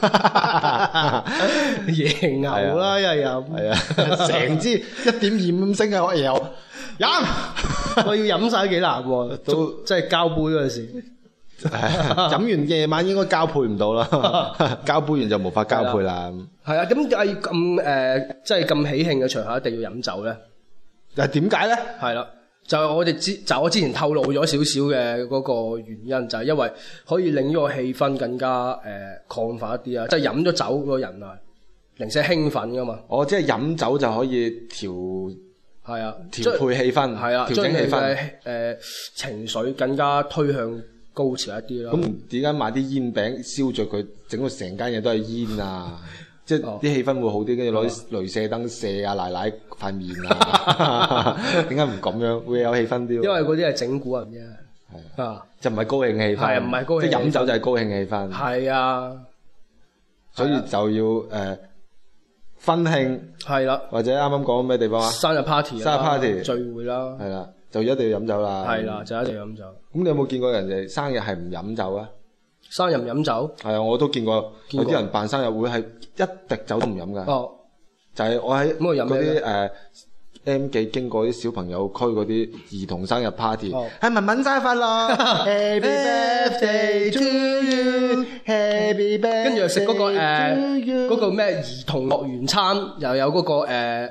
[SPEAKER 4] 椰牛啦又飲，
[SPEAKER 5] 係啊，成支1.25升嘅可以有。飲，
[SPEAKER 4] 我要飲晒幾難喎，都即係交杯嗰陣時，
[SPEAKER 5] 飲完夜晚應該交配唔到啦，交杯完就無法交配啦。
[SPEAKER 4] 係啊，咁咁即係咁喜慶嘅場合一定要飲酒咧？
[SPEAKER 5] 點解咧？係啦，
[SPEAKER 4] 就我之前透露咗少少嘅嗰個原因，就係因為可以令呢個氣氛更加亢奮一啲啊！即係飲咗酒嗰個人啊，零舍興奮噶嘛。
[SPEAKER 5] 即係飲酒就可以調配氣氛，調整氣氛，
[SPEAKER 4] 情緒更加推向高潮一啲啦。
[SPEAKER 5] 咁點解買啲煙餅燒着佢，整到成間嘢都係煙啊？即係啲氣氛會好啲，跟住攞啲鐳射燈射啊奶奶塊面啊？點解唔咁樣會有氣氛啲？
[SPEAKER 4] 因為嗰啲係整蠱人啫，
[SPEAKER 5] 就唔係高興氣氛，
[SPEAKER 4] 係唔係高興？
[SPEAKER 5] 即係飲酒就係高興氣氛，
[SPEAKER 4] 係啊，
[SPEAKER 5] 所以就要婚慶
[SPEAKER 4] 係啦，
[SPEAKER 5] 或者啱啱講咩地方啊？
[SPEAKER 4] 生日 party 聚會啦，
[SPEAKER 5] 係啦，就一定要飲酒啦。
[SPEAKER 4] 係啦，就一定要飲酒。
[SPEAKER 5] 咁你有冇見過人哋生日係唔飲酒啊？
[SPEAKER 4] 生日唔飲酒？
[SPEAKER 5] 係啊，我都見過有啲人辦生日會係一滴酒都唔飲噶。就係我喺嗰啲M 記經過啲小朋友區嗰啲兒童生日 party，係文文生日快樂，Happy birthday to you，Happy birthday，跟
[SPEAKER 4] 住又食嗰個咩兒童樂園餐，又有嗰個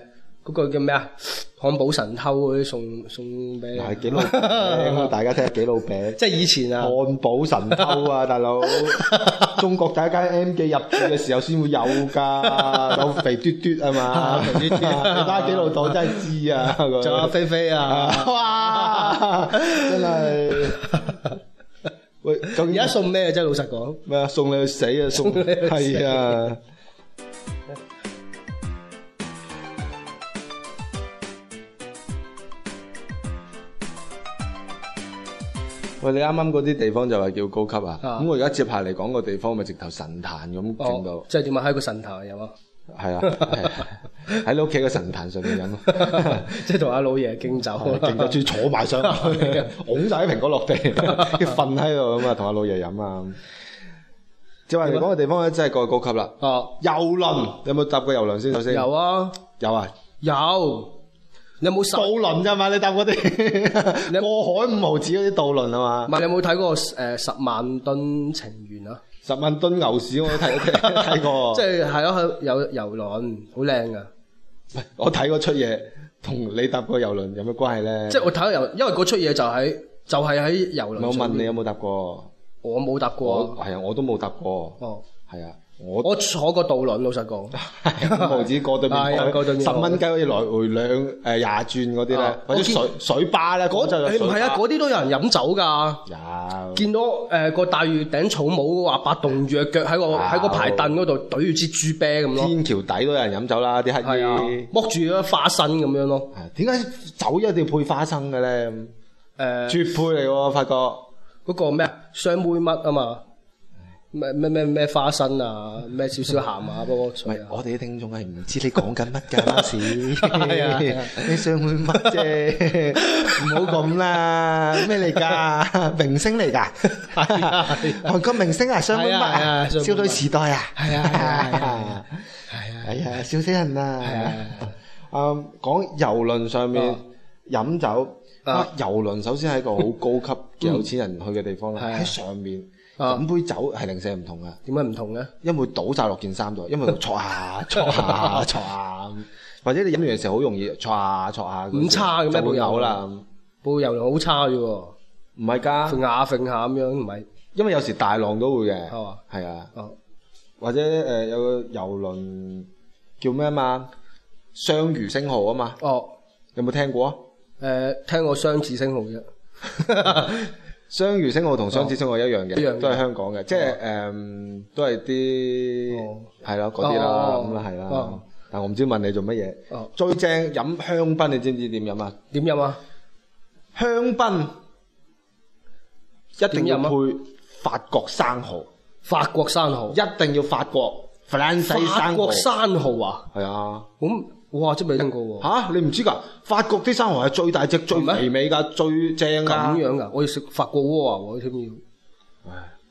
[SPEAKER 4] 嗰個叫咩啊？漢堡神偷嗰啲送俾你。
[SPEAKER 5] 係幾老餅，大家聽下幾老餅。
[SPEAKER 4] 即係以前啊，
[SPEAKER 5] 漢堡神偷啊，大佬！中國第一間 M 記入駐嘅時候先會有㗎，有肥嘟嘟啊嘛，肥嘟嘟。你睇下幾老土真係知啊！
[SPEAKER 4] 仲有菲菲啊，
[SPEAKER 5] 哇！真係。喂，
[SPEAKER 4] 而家送咩啫？老實講。
[SPEAKER 5] 咩啊？送你去死啊！送係啊！喂，你啱啱嗰啲地方就係叫高級啊？咁我而家接下嚟講個地方咪直頭神壇咁整到。
[SPEAKER 4] 即係點啊？喺個神壇有啊？
[SPEAKER 5] 係啊，喺你屋企個神壇上面飲咯。
[SPEAKER 4] 即係同阿老爺敬酒，
[SPEAKER 5] 敬酒仲坐埋上去，拱晒啲蘋果落地，跟住瞓喺度咁啊，同阿老爺飲啊。即係話嚟講個地方咧，真係過高級啦。遊輪有冇搭過遊輪先？首先
[SPEAKER 4] 有啊，
[SPEAKER 5] 有啊，
[SPEAKER 4] 有。你有冇
[SPEAKER 5] 渡輪咋嘛？你搭嗰啲過海5毫子嗰啲渡輪啊嘛？
[SPEAKER 4] 唔係，你有冇睇過10萬噸情緣啊
[SPEAKER 5] ？10萬噸牛屎我都睇過。
[SPEAKER 4] 即係係咯，有遊輪好靚噶。
[SPEAKER 5] 我睇嗰出嘢同你搭過遊輪有咩關係咧？
[SPEAKER 4] 即係我睇遊，因為嗰出嘢就係喺遊輪。
[SPEAKER 5] 我問你有冇搭過？
[SPEAKER 4] 我冇搭過。
[SPEAKER 5] 係啊，我都冇搭過。
[SPEAKER 4] 哦，
[SPEAKER 5] 係啊。
[SPEAKER 4] 我坐過渡輪，老實講
[SPEAKER 5] ，5毫子過對面海，10蚊雞可以來回20轉嗰啲咧，或者水巴咧，嗰就
[SPEAKER 4] 唔係啊，嗰啲都有人飲酒㗎。
[SPEAKER 5] 有
[SPEAKER 4] 見到個大月頂草帽話白棟住隻腳喺個排凳嗰度懟住支豬啤咁咯。
[SPEAKER 5] 天橋底都有人飲酒啦，啲乞兒
[SPEAKER 4] 剝住咗花生咁樣咯。
[SPEAKER 5] 點解酒一定要配花生嘅咧？絕配嚟喎，發覺
[SPEAKER 4] 嗰個咩雙妹乜啊嘛？咩花生啊，咩少少鹹啊，不過
[SPEAKER 5] 唔係我哋啲聽眾係唔知你講緊乜㗎，當時你雙妹乜啫？唔好咁啦，咩嚟㗎？明星嚟㗎？韓國明星啊，雙妹乜啊？少女時代啊？係啊，係啊，笑死人啊！講遊輪上面飲酒，遊輪首先係一個好高級嘅有錢人去嘅地方啦，喺上面。飲杯酒係零舍唔同嘅，
[SPEAKER 4] 點解唔同咧？
[SPEAKER 5] 因為會倒晒落件衫度，因為搓下，或者你飲完嘅時候好容易搓下，
[SPEAKER 4] 咁差嘅咩？
[SPEAKER 5] 會嘔啦，
[SPEAKER 4] 部遊輪好差嘅喎，
[SPEAKER 5] 唔係㗎，
[SPEAKER 4] 揈下咁樣唔係，
[SPEAKER 5] 因為有時大浪都會嘅，係啊，或者有個遊輪叫咩啊嘛，雙魚星號啊嘛，有冇聽過啊？
[SPEAKER 4] 聽過雙子星號啫。
[SPEAKER 5] 雙魚星號同雙子星號一樣嘅，都係香港嘅，即係都係啲係咯嗰啲啦，咁啦係啦。但我唔知問你做乜嘢。最正飲香檳，你知唔知點飲啊？
[SPEAKER 4] 點飲啊？香
[SPEAKER 5] 檳一定要配法國生蠔。
[SPEAKER 4] 法國生蠔
[SPEAKER 5] 一定要法國生蠔。
[SPEAKER 4] 法國生蠔啊？
[SPEAKER 5] 係啊。咁
[SPEAKER 4] 哇！真未聽過喎。
[SPEAKER 5] 嚇！你唔知㗎？法國啲生蠔係最大隻、最肥美㗎、最正㗎。
[SPEAKER 4] 咁樣㗎？我要食法國鍋啊！我添要。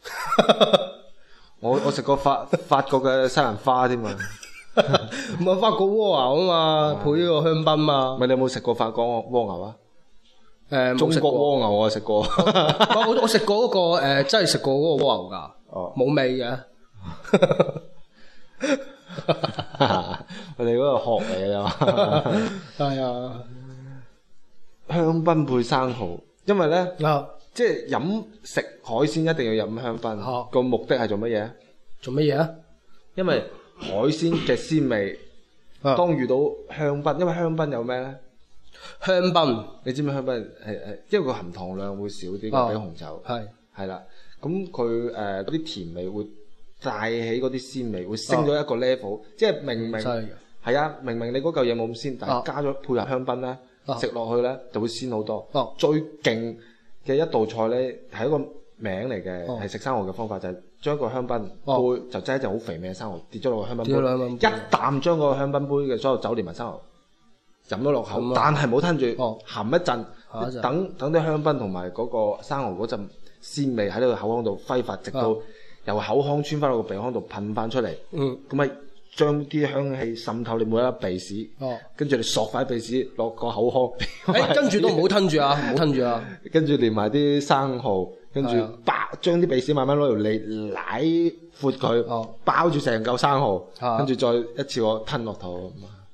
[SPEAKER 5] 我食過法國嘅西蘭花添啊！
[SPEAKER 4] 唔係法國蝸牛啊嘛，配呢個香檳嘛。
[SPEAKER 5] 咪你有冇食過法國蝸牛啊？中國蝸牛我食過。
[SPEAKER 4] 我食過嗰個真係食過嗰個蝸牛㗎。冇味嘅。我哋嗰個殼嚟嘅啫。係啊。
[SPEAKER 5] 香檳配生蠔，因為咧，即係食海鮮一定要飲香檳。個目的係做乜嘢？
[SPEAKER 4] 做乜嘢啊？
[SPEAKER 5] 因為海鮮嘅鮮味，當遇到香檳，因為香檳有咩咧？香檳，你知唔知香檳係因為個含糖量會少啲，比紅酒係啦。咁佢嗰啲甜味會帶起嗰啲鮮味，會升咗一個 level。即係明明係啊，明明你嗰嚿嘢冇咁鮮，但係加咗配合香檳咧，食落去咧就會鮮好多。最勁嘅一道菜咧係一個名嚟嘅，係食生蠔嘅方法就係將個香檳杯就擠一隻好肥美嘅生蠔跌咗落個香檳杯，一啖將個香檳杯嘅所有酒連埋生蠔飲咗落口，但係冇吞住，含一陣，等啲香檳同埋嗰個生蠔嗰陣鮮味喺呢個口腔度揮發，直到由口腔穿翻到個鼻腔度噴翻出嚟，咁咪將啲香氣滲透你每一粒鼻屎，跟住你索塊鼻屎落個口腔，跟住都唔好吞住啊，唔好吞住啊，跟住連埋啲生蠔。跟住將啲鼻屎慢慢攞條脷舐闊佢，包住成嚿生蠔，跟住再一次我吞落肚。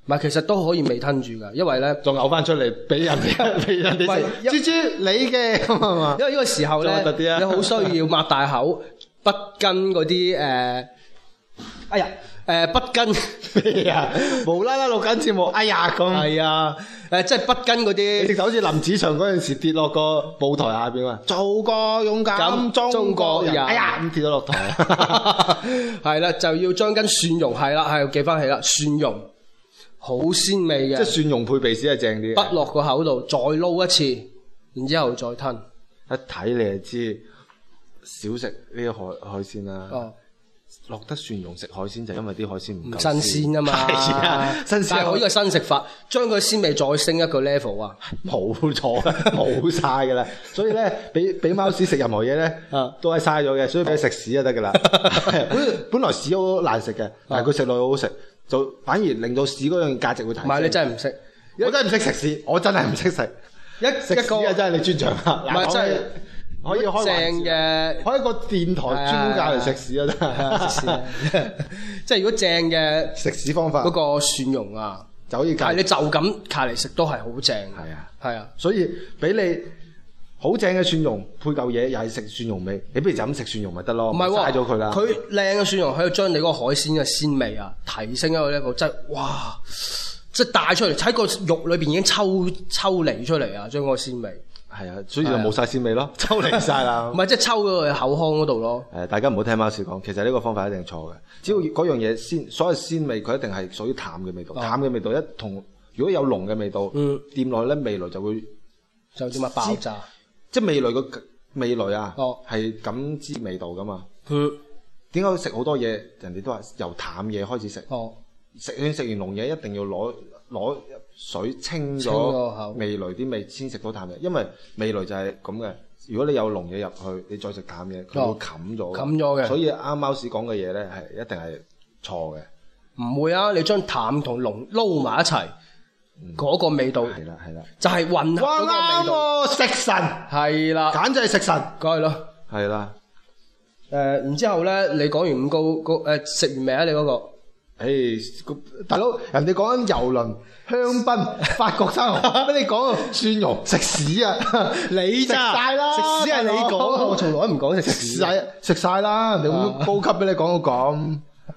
[SPEAKER 4] 唔係，其實都可以未吞住㗎，因為咧，
[SPEAKER 5] 再嘔翻出嚟俾人哋俾人哋食。豬豬你嘅咁係嘛？
[SPEAKER 4] 因為呢個時候咧，你好需要擘大口，不跟嗰啲哎呀不跟
[SPEAKER 5] 咩啊？無啦啦錄緊節目，哎呀咁。
[SPEAKER 4] 係啊，即係不跟嗰啲，
[SPEAKER 5] 直頭好似林子祥嗰陣時跌落個舞台下邊啊！做個勇敢中國人，哎呀咁跌咗落台。
[SPEAKER 4] 係啦，就要將根蒜蓉係啦，係記翻起啦，蒜蓉好鮮味嘅，
[SPEAKER 5] 即係蒜蓉配鼻屎係正啲。
[SPEAKER 4] 不落個口度，再撈一次，然之後再吞。
[SPEAKER 5] 一睇你就知少食呢個海鮮啦。
[SPEAKER 4] 哦，
[SPEAKER 5] 落得蒜蓉食海鮮就因為啲海鮮唔夠
[SPEAKER 4] 新鮮啊嘛。
[SPEAKER 5] 係啊，新鮮。
[SPEAKER 4] 但係我呢個新食法，將佢鮮味再升一個 level 啊！
[SPEAKER 5] 冇錯，冇晒㗎啦。所以咧，俾貓屎食任何嘢咧，都係嘥咗嘅。所以俾佢食屎就得㗎啦。本來屎好難食嘅，但係佢食落去好好食，就反而令到屎嗰樣價值會提升。
[SPEAKER 4] 唔係你真係唔識，
[SPEAKER 5] 我真係唔識食屎，我真係唔識食。食屎啊！真係你專長啊！
[SPEAKER 4] 唔係真係。
[SPEAKER 5] 可以開正嘅，開一個電台專門教嚟食屎啊！真係食屎，
[SPEAKER 4] 即係如果正嘅
[SPEAKER 5] 食屎方法，
[SPEAKER 4] 嗰個蒜蓉啊，
[SPEAKER 5] 就可以。
[SPEAKER 4] 但係你就咁卡嚟食都係好正。
[SPEAKER 5] 係啊，
[SPEAKER 4] 係啊，
[SPEAKER 5] 所以俾你好正嘅蒜蓉配嚿嘢，又係食蒜蓉味，你不如就咁食蒜蓉咪得咯。唔係喎，嘥咗佢啦。佢
[SPEAKER 4] 靚嘅蒜蓉可以將你嗰個海鮮嘅鮮味啊提升一個 level，真係哇！即係帶出嚟喺個肉裏邊已經抽離出嚟啊，將嗰個鮮味。係啊，所以就冇晒鮮味咯，抽離晒啦。唔係即係抽咗去口腔嗰度咯。大家唔好聽貓屎講，其實呢個方法一定錯嘅。只要嗰樣嘢鮮，所有鮮味佢一定係屬於淡嘅味道。淡嘅味道一同如果有濃嘅味道，掂落去咧味蕾就會就點啊爆炸。即係味蕾個味蕾啊，係感知味道噶嘛。點解食好多嘢？人哋都話由淡嘢開始食。食完濃嘢一定要攞水清咗味蕾啲味先食到淡嘢，因為味蕾就係咁嘅。如果你有濃嘢入去，你再食淡嘢，佢會冚咗嘅。所以啱貓屎講嘅嘢咧係一定係錯嘅。唔會啊！你將淡同濃撈埋一齊，嗰個味道係啦，就係混合嗰個味道。食神係啦，簡直係食神，梗係咯，係啦。然之後咧，你講完五高食完未啊？你嗰個？大佬，人哋講緊遊輪、香檳、法國生蠔，俾你講蒜蓉食屎啊！你咋食晒啦？食屎係你講，我從來都唔講食屎。食晒啦！人哋咁高級俾你講到咁。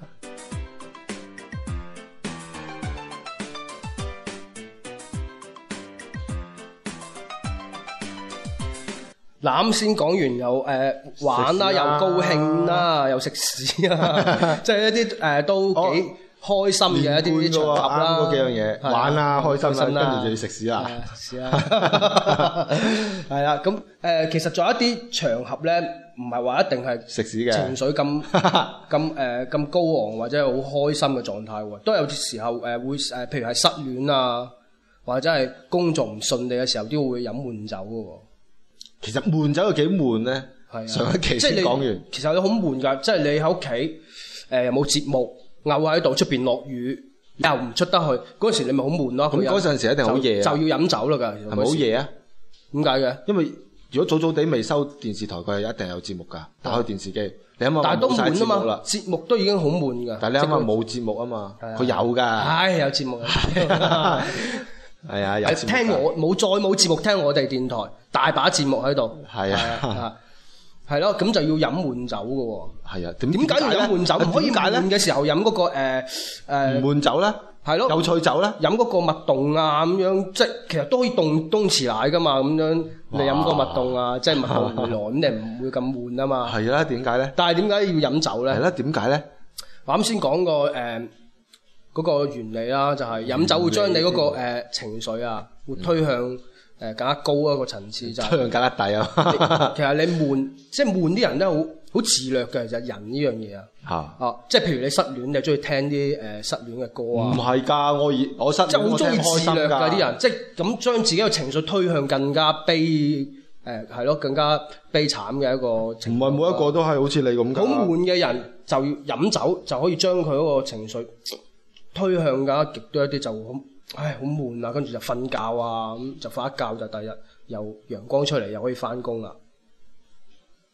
[SPEAKER 4] 啱先講完又玩啦，又高興啦，又食屎啦，即係一啲都幾開心嘅一啲場合啦。嗰幾樣嘢玩啦，開心啦，跟住就要食屎啦。食屎啦，係啦。咁其實仲有一啲場合咧，唔係話一定係食屎嘅情緒咁高昂或者係好開心嘅狀態喎，都有啲時候會譬如係失戀啊，或者係工作唔順利嘅時候，都會飲悶酒嘅喎。其實悶酒有幾悶咧？係啊，上一期先講完。其實你好悶㗎，即係你喺屋企又冇節目，漚喺度，出邊落雨又唔出得去，嗰陣時你咪好悶咯。咁嗰陣時一定好夜，就要飲酒啦㗎。係咪好夜啊？點解嘅？因為如果早早地未收電視台，佢係一定有節目㗎。打開電視機，你諗下，但係都悶啊嘛，節目都已經好悶㗎。但係你諗下冇節目啊嘛，佢有㗎。係有節目。係啊，有節目聽我再冇節目聽我哋電台，大把節目喺度。係啊，係咯，咁就要飲悶酒嘅喎。係啊，點解要飲悶酒？唔可以悶嘅時候飲嗰個唔悶酒咧？係咯，有趣酒咧？飲嗰個蜜凍啊咁樣，即係其實都可以凍東池奶噶嘛咁樣。你飲個蜜凍啊，即係蜜凍回來，咁你唔會咁悶啊嘛。係啦，點解咧？但係點解要飲酒咧？係啦，點解咧？我啱先講過嗰個原理啦，就係飲酒會將你嗰個情緒啊，會推向更加高一個層次，就推向更加低啊。其實你悶，即係悶啲人都好自虐嘅，其實人呢樣嘢啊。即係譬如你失戀，你中意聽啲失戀嘅歌啊？唔係㗎，我失戀即係好中意自虐㗎啲人，即係咁將自己嘅情緒推向更加係咯，更加悲慘嘅一個情況。唔係每一個都係好似你咁㗎。好悶嘅人就要飲酒就可以將佢嗰個情緒推向㗎極端一啲，就好悶啊，跟住就瞓覺啊，咁就瞓一覺就第日又陽光出嚟，又可以翻工啦。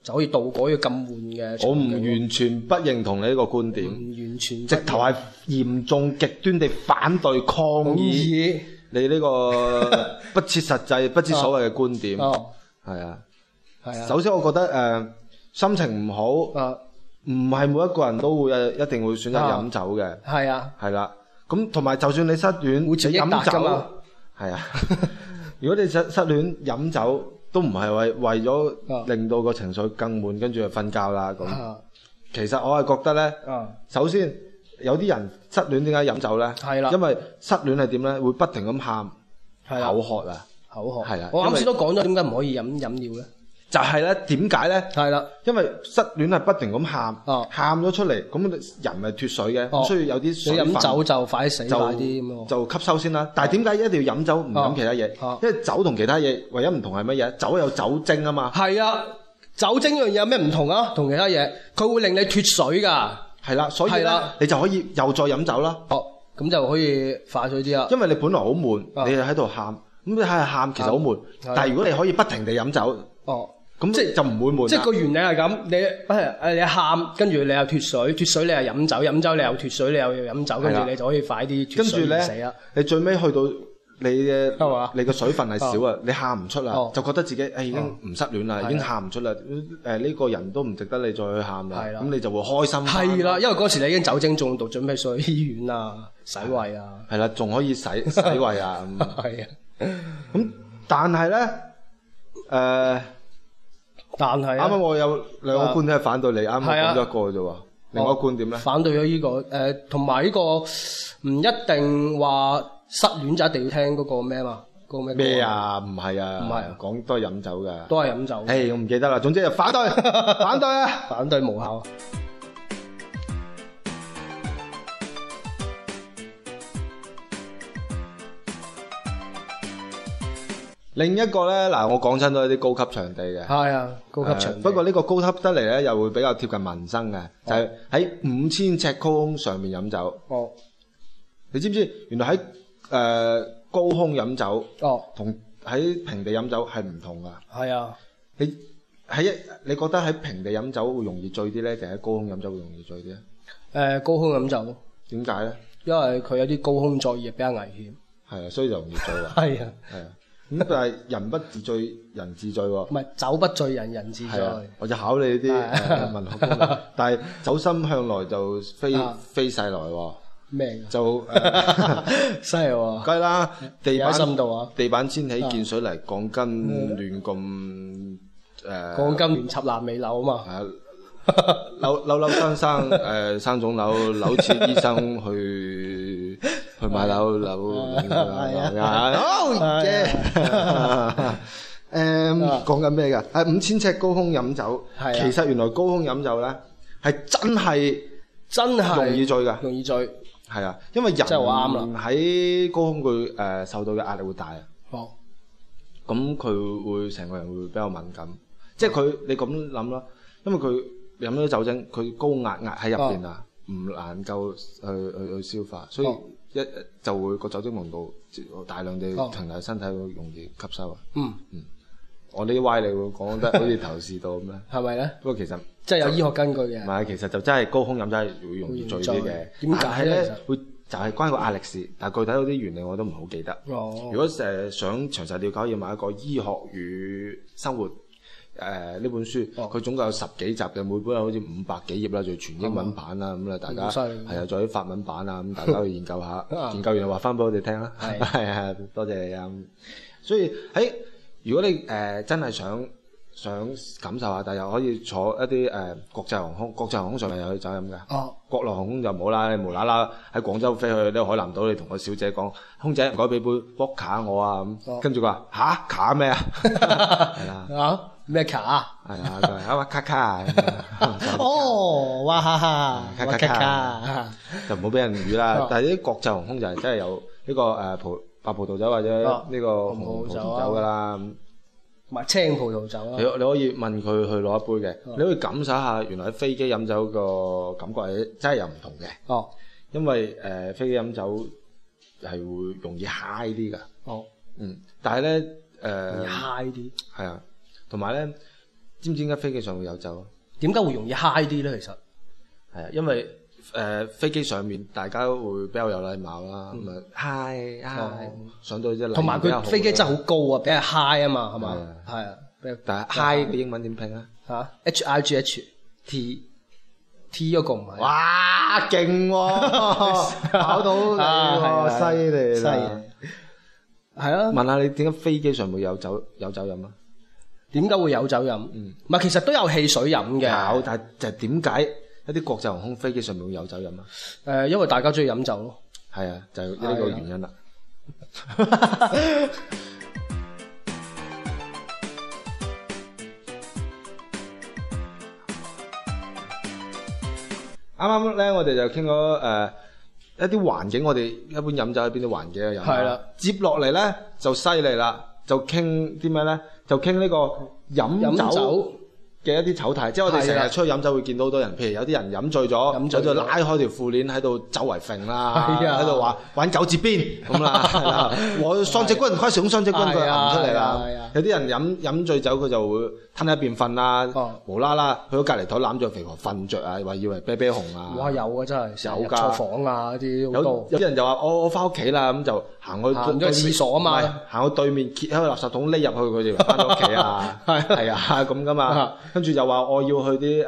[SPEAKER 4] 就可以渡過呢個咁悶嘅場景。
[SPEAKER 5] 我唔完全不認同你呢個觀點，
[SPEAKER 4] 唔完全
[SPEAKER 5] 直頭係嚴重極端地反對抗議你呢個不切實際、不知所謂嘅觀點。係啊，首先我覺得心情唔好，唔係每一個人都會一定會選擇飲酒嘅。係啊，係啦。咁同埋就算你失戀，你飲酒係啊。如果你失戀飲酒，都唔係為咗令到個情緒更悶，跟住就瞓覺啦咁。其實我係覺得咧，首先有啲人失戀點解飲酒咧？係啦，因為失戀係點咧？會不停咁喊，口渴啊，口渴係啦。我啱先都講咗點解唔可以飲料咧？就係咧，點解咧？係啦，因為失戀係不停咁喊，喊咗出嚟，咁人咪脫水嘅，需要有啲水分。你飲酒就快死快啲咁咯，就吸收先啦。但係點解一定要飲酒唔飲其他嘢？因為酒同其他嘢唯一唔同係乜嘢？酒有酒精啊嘛。係啊，酒精呢樣嘢有咩唔同啊？同其他嘢，佢會令你脫水㗎。係啦，所以咧，你就可以又再飲酒啦。哦，咁就可以快水啲啦。因為你本來好悶，你喺度喊，咁你喺度喊其實好悶。但係如果你可以不停地飲酒，咁即係就唔會悶。即係個原理係咁，你喊，跟住你又脫水，脫水你又飲酒，飲酒你又脫水，你又飲酒，跟住你就可以快啲脫水而死啦。你最尾去到你嘅水分係少啊，你喊唔出啦，就覺得自己已經唔失戀啦，已經喊唔出啦。呢個人都唔值得你再去喊啦。咁你就會開心。係啦，因為嗰時你已經酒精中毒，準備上去醫院啊，洗胃啊。係啦，仲可以洗胃啊。係啊。咁但係咧，但係啱啱我有兩個觀點係反對你，啱啱講咗一個啫喎。另外一個觀點咧，反對咗呢個同埋呢個唔一定話失戀就一定要聽嗰個咩嘛？嗰個咩啊？唔係啊，唔係講都係飲酒㗎，都係飲酒。我唔記得啦。總之就反對，反對啊，反對無效。另一個咧，嗱，我講親都係啲高級場地嘅。係啊，高級場地。不過呢個高級得嚟咧，又會比較貼近民生嘅，就係喺5000尺高空上面飲酒。哦，你知唔知原來喺高空飲酒，同喺平地飲酒係唔同㗎？係啊，你覺得喺平地飲酒會容易醉啲咧，定喺高空飲酒會容易醉啲咧？高空飲酒。點解咧？因為佢有啲高空作業比較危險。係啊，所以就容易醉啦。係啊，係啊。咁但係人不自醉，人自醉喎。唔係酒不醉人，人自醉。我就考你啲文學功能，但係酒心向來就非世來喎。咩？就犀利喎！梗係啦，地板掀起見水泥，鋼筋亂咁鋼筋亂插爛尾樓啊嘛。係啊，扭生生腫瘤，扭切醫生去買樓。係啊，好嘅。講緊咩㗎？5000尺高空飲酒，其實原來高空飲酒咧係真係容易醉㗎，容易醉。係啊，因為人喺高空佢受到嘅壓力會大啊。哦，咁佢會成個人會比較敏感，即係你咁諗啦，因為佢飲咗酒精，佢高壓喺入邊啊，唔能夠去消化，所以就會個酒精濃度大量地停留喺身體，會容易吸收啊。我呢啲歪理會講得好似頭視到咁咧，係咪咧？不過其實即係有醫學根據嘅。唔係，其實就真係高空飲酒係會容易醉啲嘅。點解咧？會就係關個壓力事，但係具體嗰啲原理我都唔好記得。如果想詳細了解，要買一個《醫學與生活》呢本書，佢總共有10幾集嘅，每本好似500幾頁啦，仲全英文版啦，咁大家係啊，仲有啲法文版啊，咁大家去研究下，研究完就話翻俾我哋聽啦。係啊，多謝你啊！所以如果你真係想感受下，但又可以坐一啲國際航空，國際航空上面有酒飲㗎。國內航空就唔好啦，你無啦啦喺廣州飛去呢個海南島，你同個小姐講，空姐唔該俾杯波卡我啊咁，跟住佢話吓卡咩啊？係啦，咩卡啊？係啊，佢話哇卡卡哦，哇哈哈，卡卡就唔好俾人語啦。但係啲國際航空就係真係有呢個白葡萄酒或者呢個紅葡萄酒㗎啦，同埋青葡萄酒啦。你可以問佢去攞一杯嘅，你可以感受下原來喺飛機飲酒個感覺係真係有唔同嘅。因為飛機飲酒係會容易 high 啲㗎。但係咧high 啲係啊，同埋咧
[SPEAKER 3] 知唔知點解飛機上會有酒？
[SPEAKER 4] 點解會容易 high 啲咧？其實
[SPEAKER 3] 係啊，因為飛機上面大家會比較有禮貌啦，咁啊 hi 上到即係
[SPEAKER 4] 同埋佢飛機真係好高啊，比較 high 啊嘛，係嘛？係啊，
[SPEAKER 3] 但係 high 嘅英文點拼啊？
[SPEAKER 4] 嚇 HIGH T 嗰個唔係。
[SPEAKER 3] 哇，勁喎！考到你喎，犀利啦！
[SPEAKER 4] 係啊，
[SPEAKER 3] 問下你點解飛機上會有酒飲啊？
[SPEAKER 4] 點解會有酒飲？唔係其實都有汽水飲嘅。
[SPEAKER 3] 有，但係就係點解一啲國際航空飛機上面會有酒飲啊？
[SPEAKER 4] 因為大家中意飲酒咯。
[SPEAKER 3] 係啊，就係呢個原因啦。啱啱咧，我哋就傾咗一啲環境，我哋一般飲酒喺邊啲環境去飲？係啦。接落嚟咧就犀利啦，就傾啲咩咧？就傾呢個飲酒嘅一啲醜態，即係我哋成日出去飲酒會見到好多人，譬如有啲人飲醉咗，喺度拉開條褲鏈喺度周圍揈啦，喺度話玩九節邊咁啦，我雙截棍，快使用雙截棍，佢行出嚟啦。有啲人飲醉酒佢就會吞喺一邊瞓啦，無啦啦去到隔離台攬住肥婆瞓着啊，話以為啤啤熊啊。哇，有啊，真係有㗎，錯房啊啲好多。有啲人就話我翻屋企啦，咁就行去廁所啊嘛，行去對面揭開個垃圾桶匿入去，佢哋翻到屋企啊，係啊咁噶嘛。跟住又話我要去啲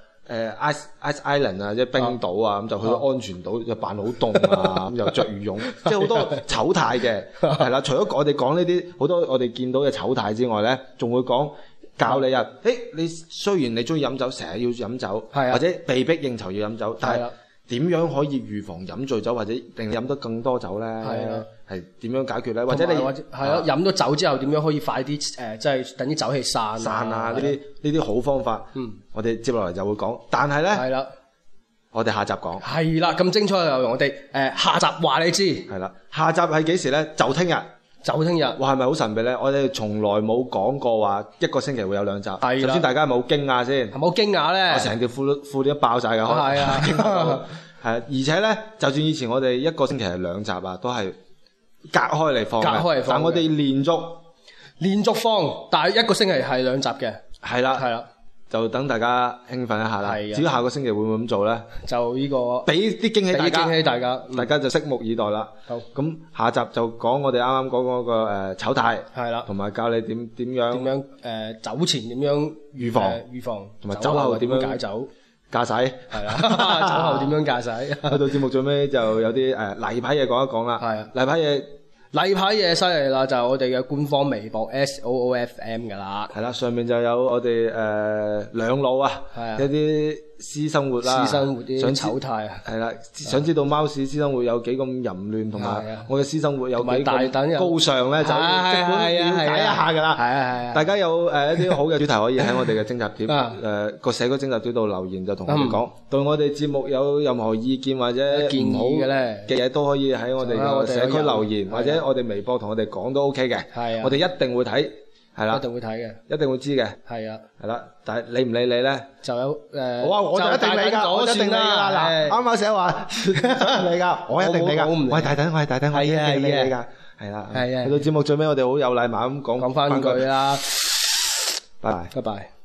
[SPEAKER 3] Ice Island 啊，即係冰島啊，咁就去到安全島就扮好凍啊，咁又着羽絨，即係好多醜態嘅，係啦。除咗我哋講呢啲好多我哋見到嘅醜態之外咧，仲會講教你啊，你雖然你中意飲酒，成日要飲酒，或者被逼應酬要飲酒，但係點樣可以預防飲醉酒或者令你飲得更多酒咧？係點樣解決咧？或者你係咯，飲咗酒之後點樣可以快啲即係等啲酒氣散啊？呢啲好方法，我哋接落嚟就會講。但係咧，係啦，我哋下集講。係啦，咁精彩嘅內容，我哋下集話你知。係啦，下集係幾時咧？就聽日。哇，係咪好神秘咧？我哋從來冇講過話一個星期會有2集。係啦。首先大家係咪好驚訝先？係咪好驚訝咧？我成條褲都爆晒㗎。係啊。係，而且咧，就算以前我哋一個星期係2集啊，都係隔開嚟放嘅。但我哋連續放，但係一個星期係2集嘅。係啦。就等大家興奮一下啦。至於下個星期會唔會咁做咧？就呢個俾啲驚喜大家，大家就拭目以待啦。好，咁下集就講我哋啱啱講嗰個醜態，係啦，同埋教你點樣酒前點樣預防，同埋酒後點樣解酒駕駛，係啦，酒後點樣駕駛。去到節目最尾就有啲例牌嘢講一講啦。係啊，例牌嘢犀利啦，就係我哋嘅官方微博 SOOFM 噶啦。係啦，上面就有我哋兩老啊，一啲私生活啦，啲醜態啊。係啦，想知道貓屎私生活有幾咁淫亂，同埋我嘅私生活有幾咁高尚咧，就即管了解一下噶啦。係大家有一啲好嘅主題可以喺我哋嘅徵集貼個社區徵集貼度留言，就同我哋講。對我哋節目有任何意見或者建議嘅咧嘅嘢，都可以喺我哋嘅社區留言，或者我哋微博同我哋講都 OK 嘅。係啊，我哋一定會睇。係啦，一定會睇嘅，一定會知嘅。係啊，係啦，但係理唔理你咧？就有我就一定理㗎，我一定理㗎啦。嗱，啱啱寫話理㗎，我一定理㗎。我係大等，我一定理你㗎。係啦，係啊。去到節目最尾，我哋好有禮貌咁講翻句啦。拜拜。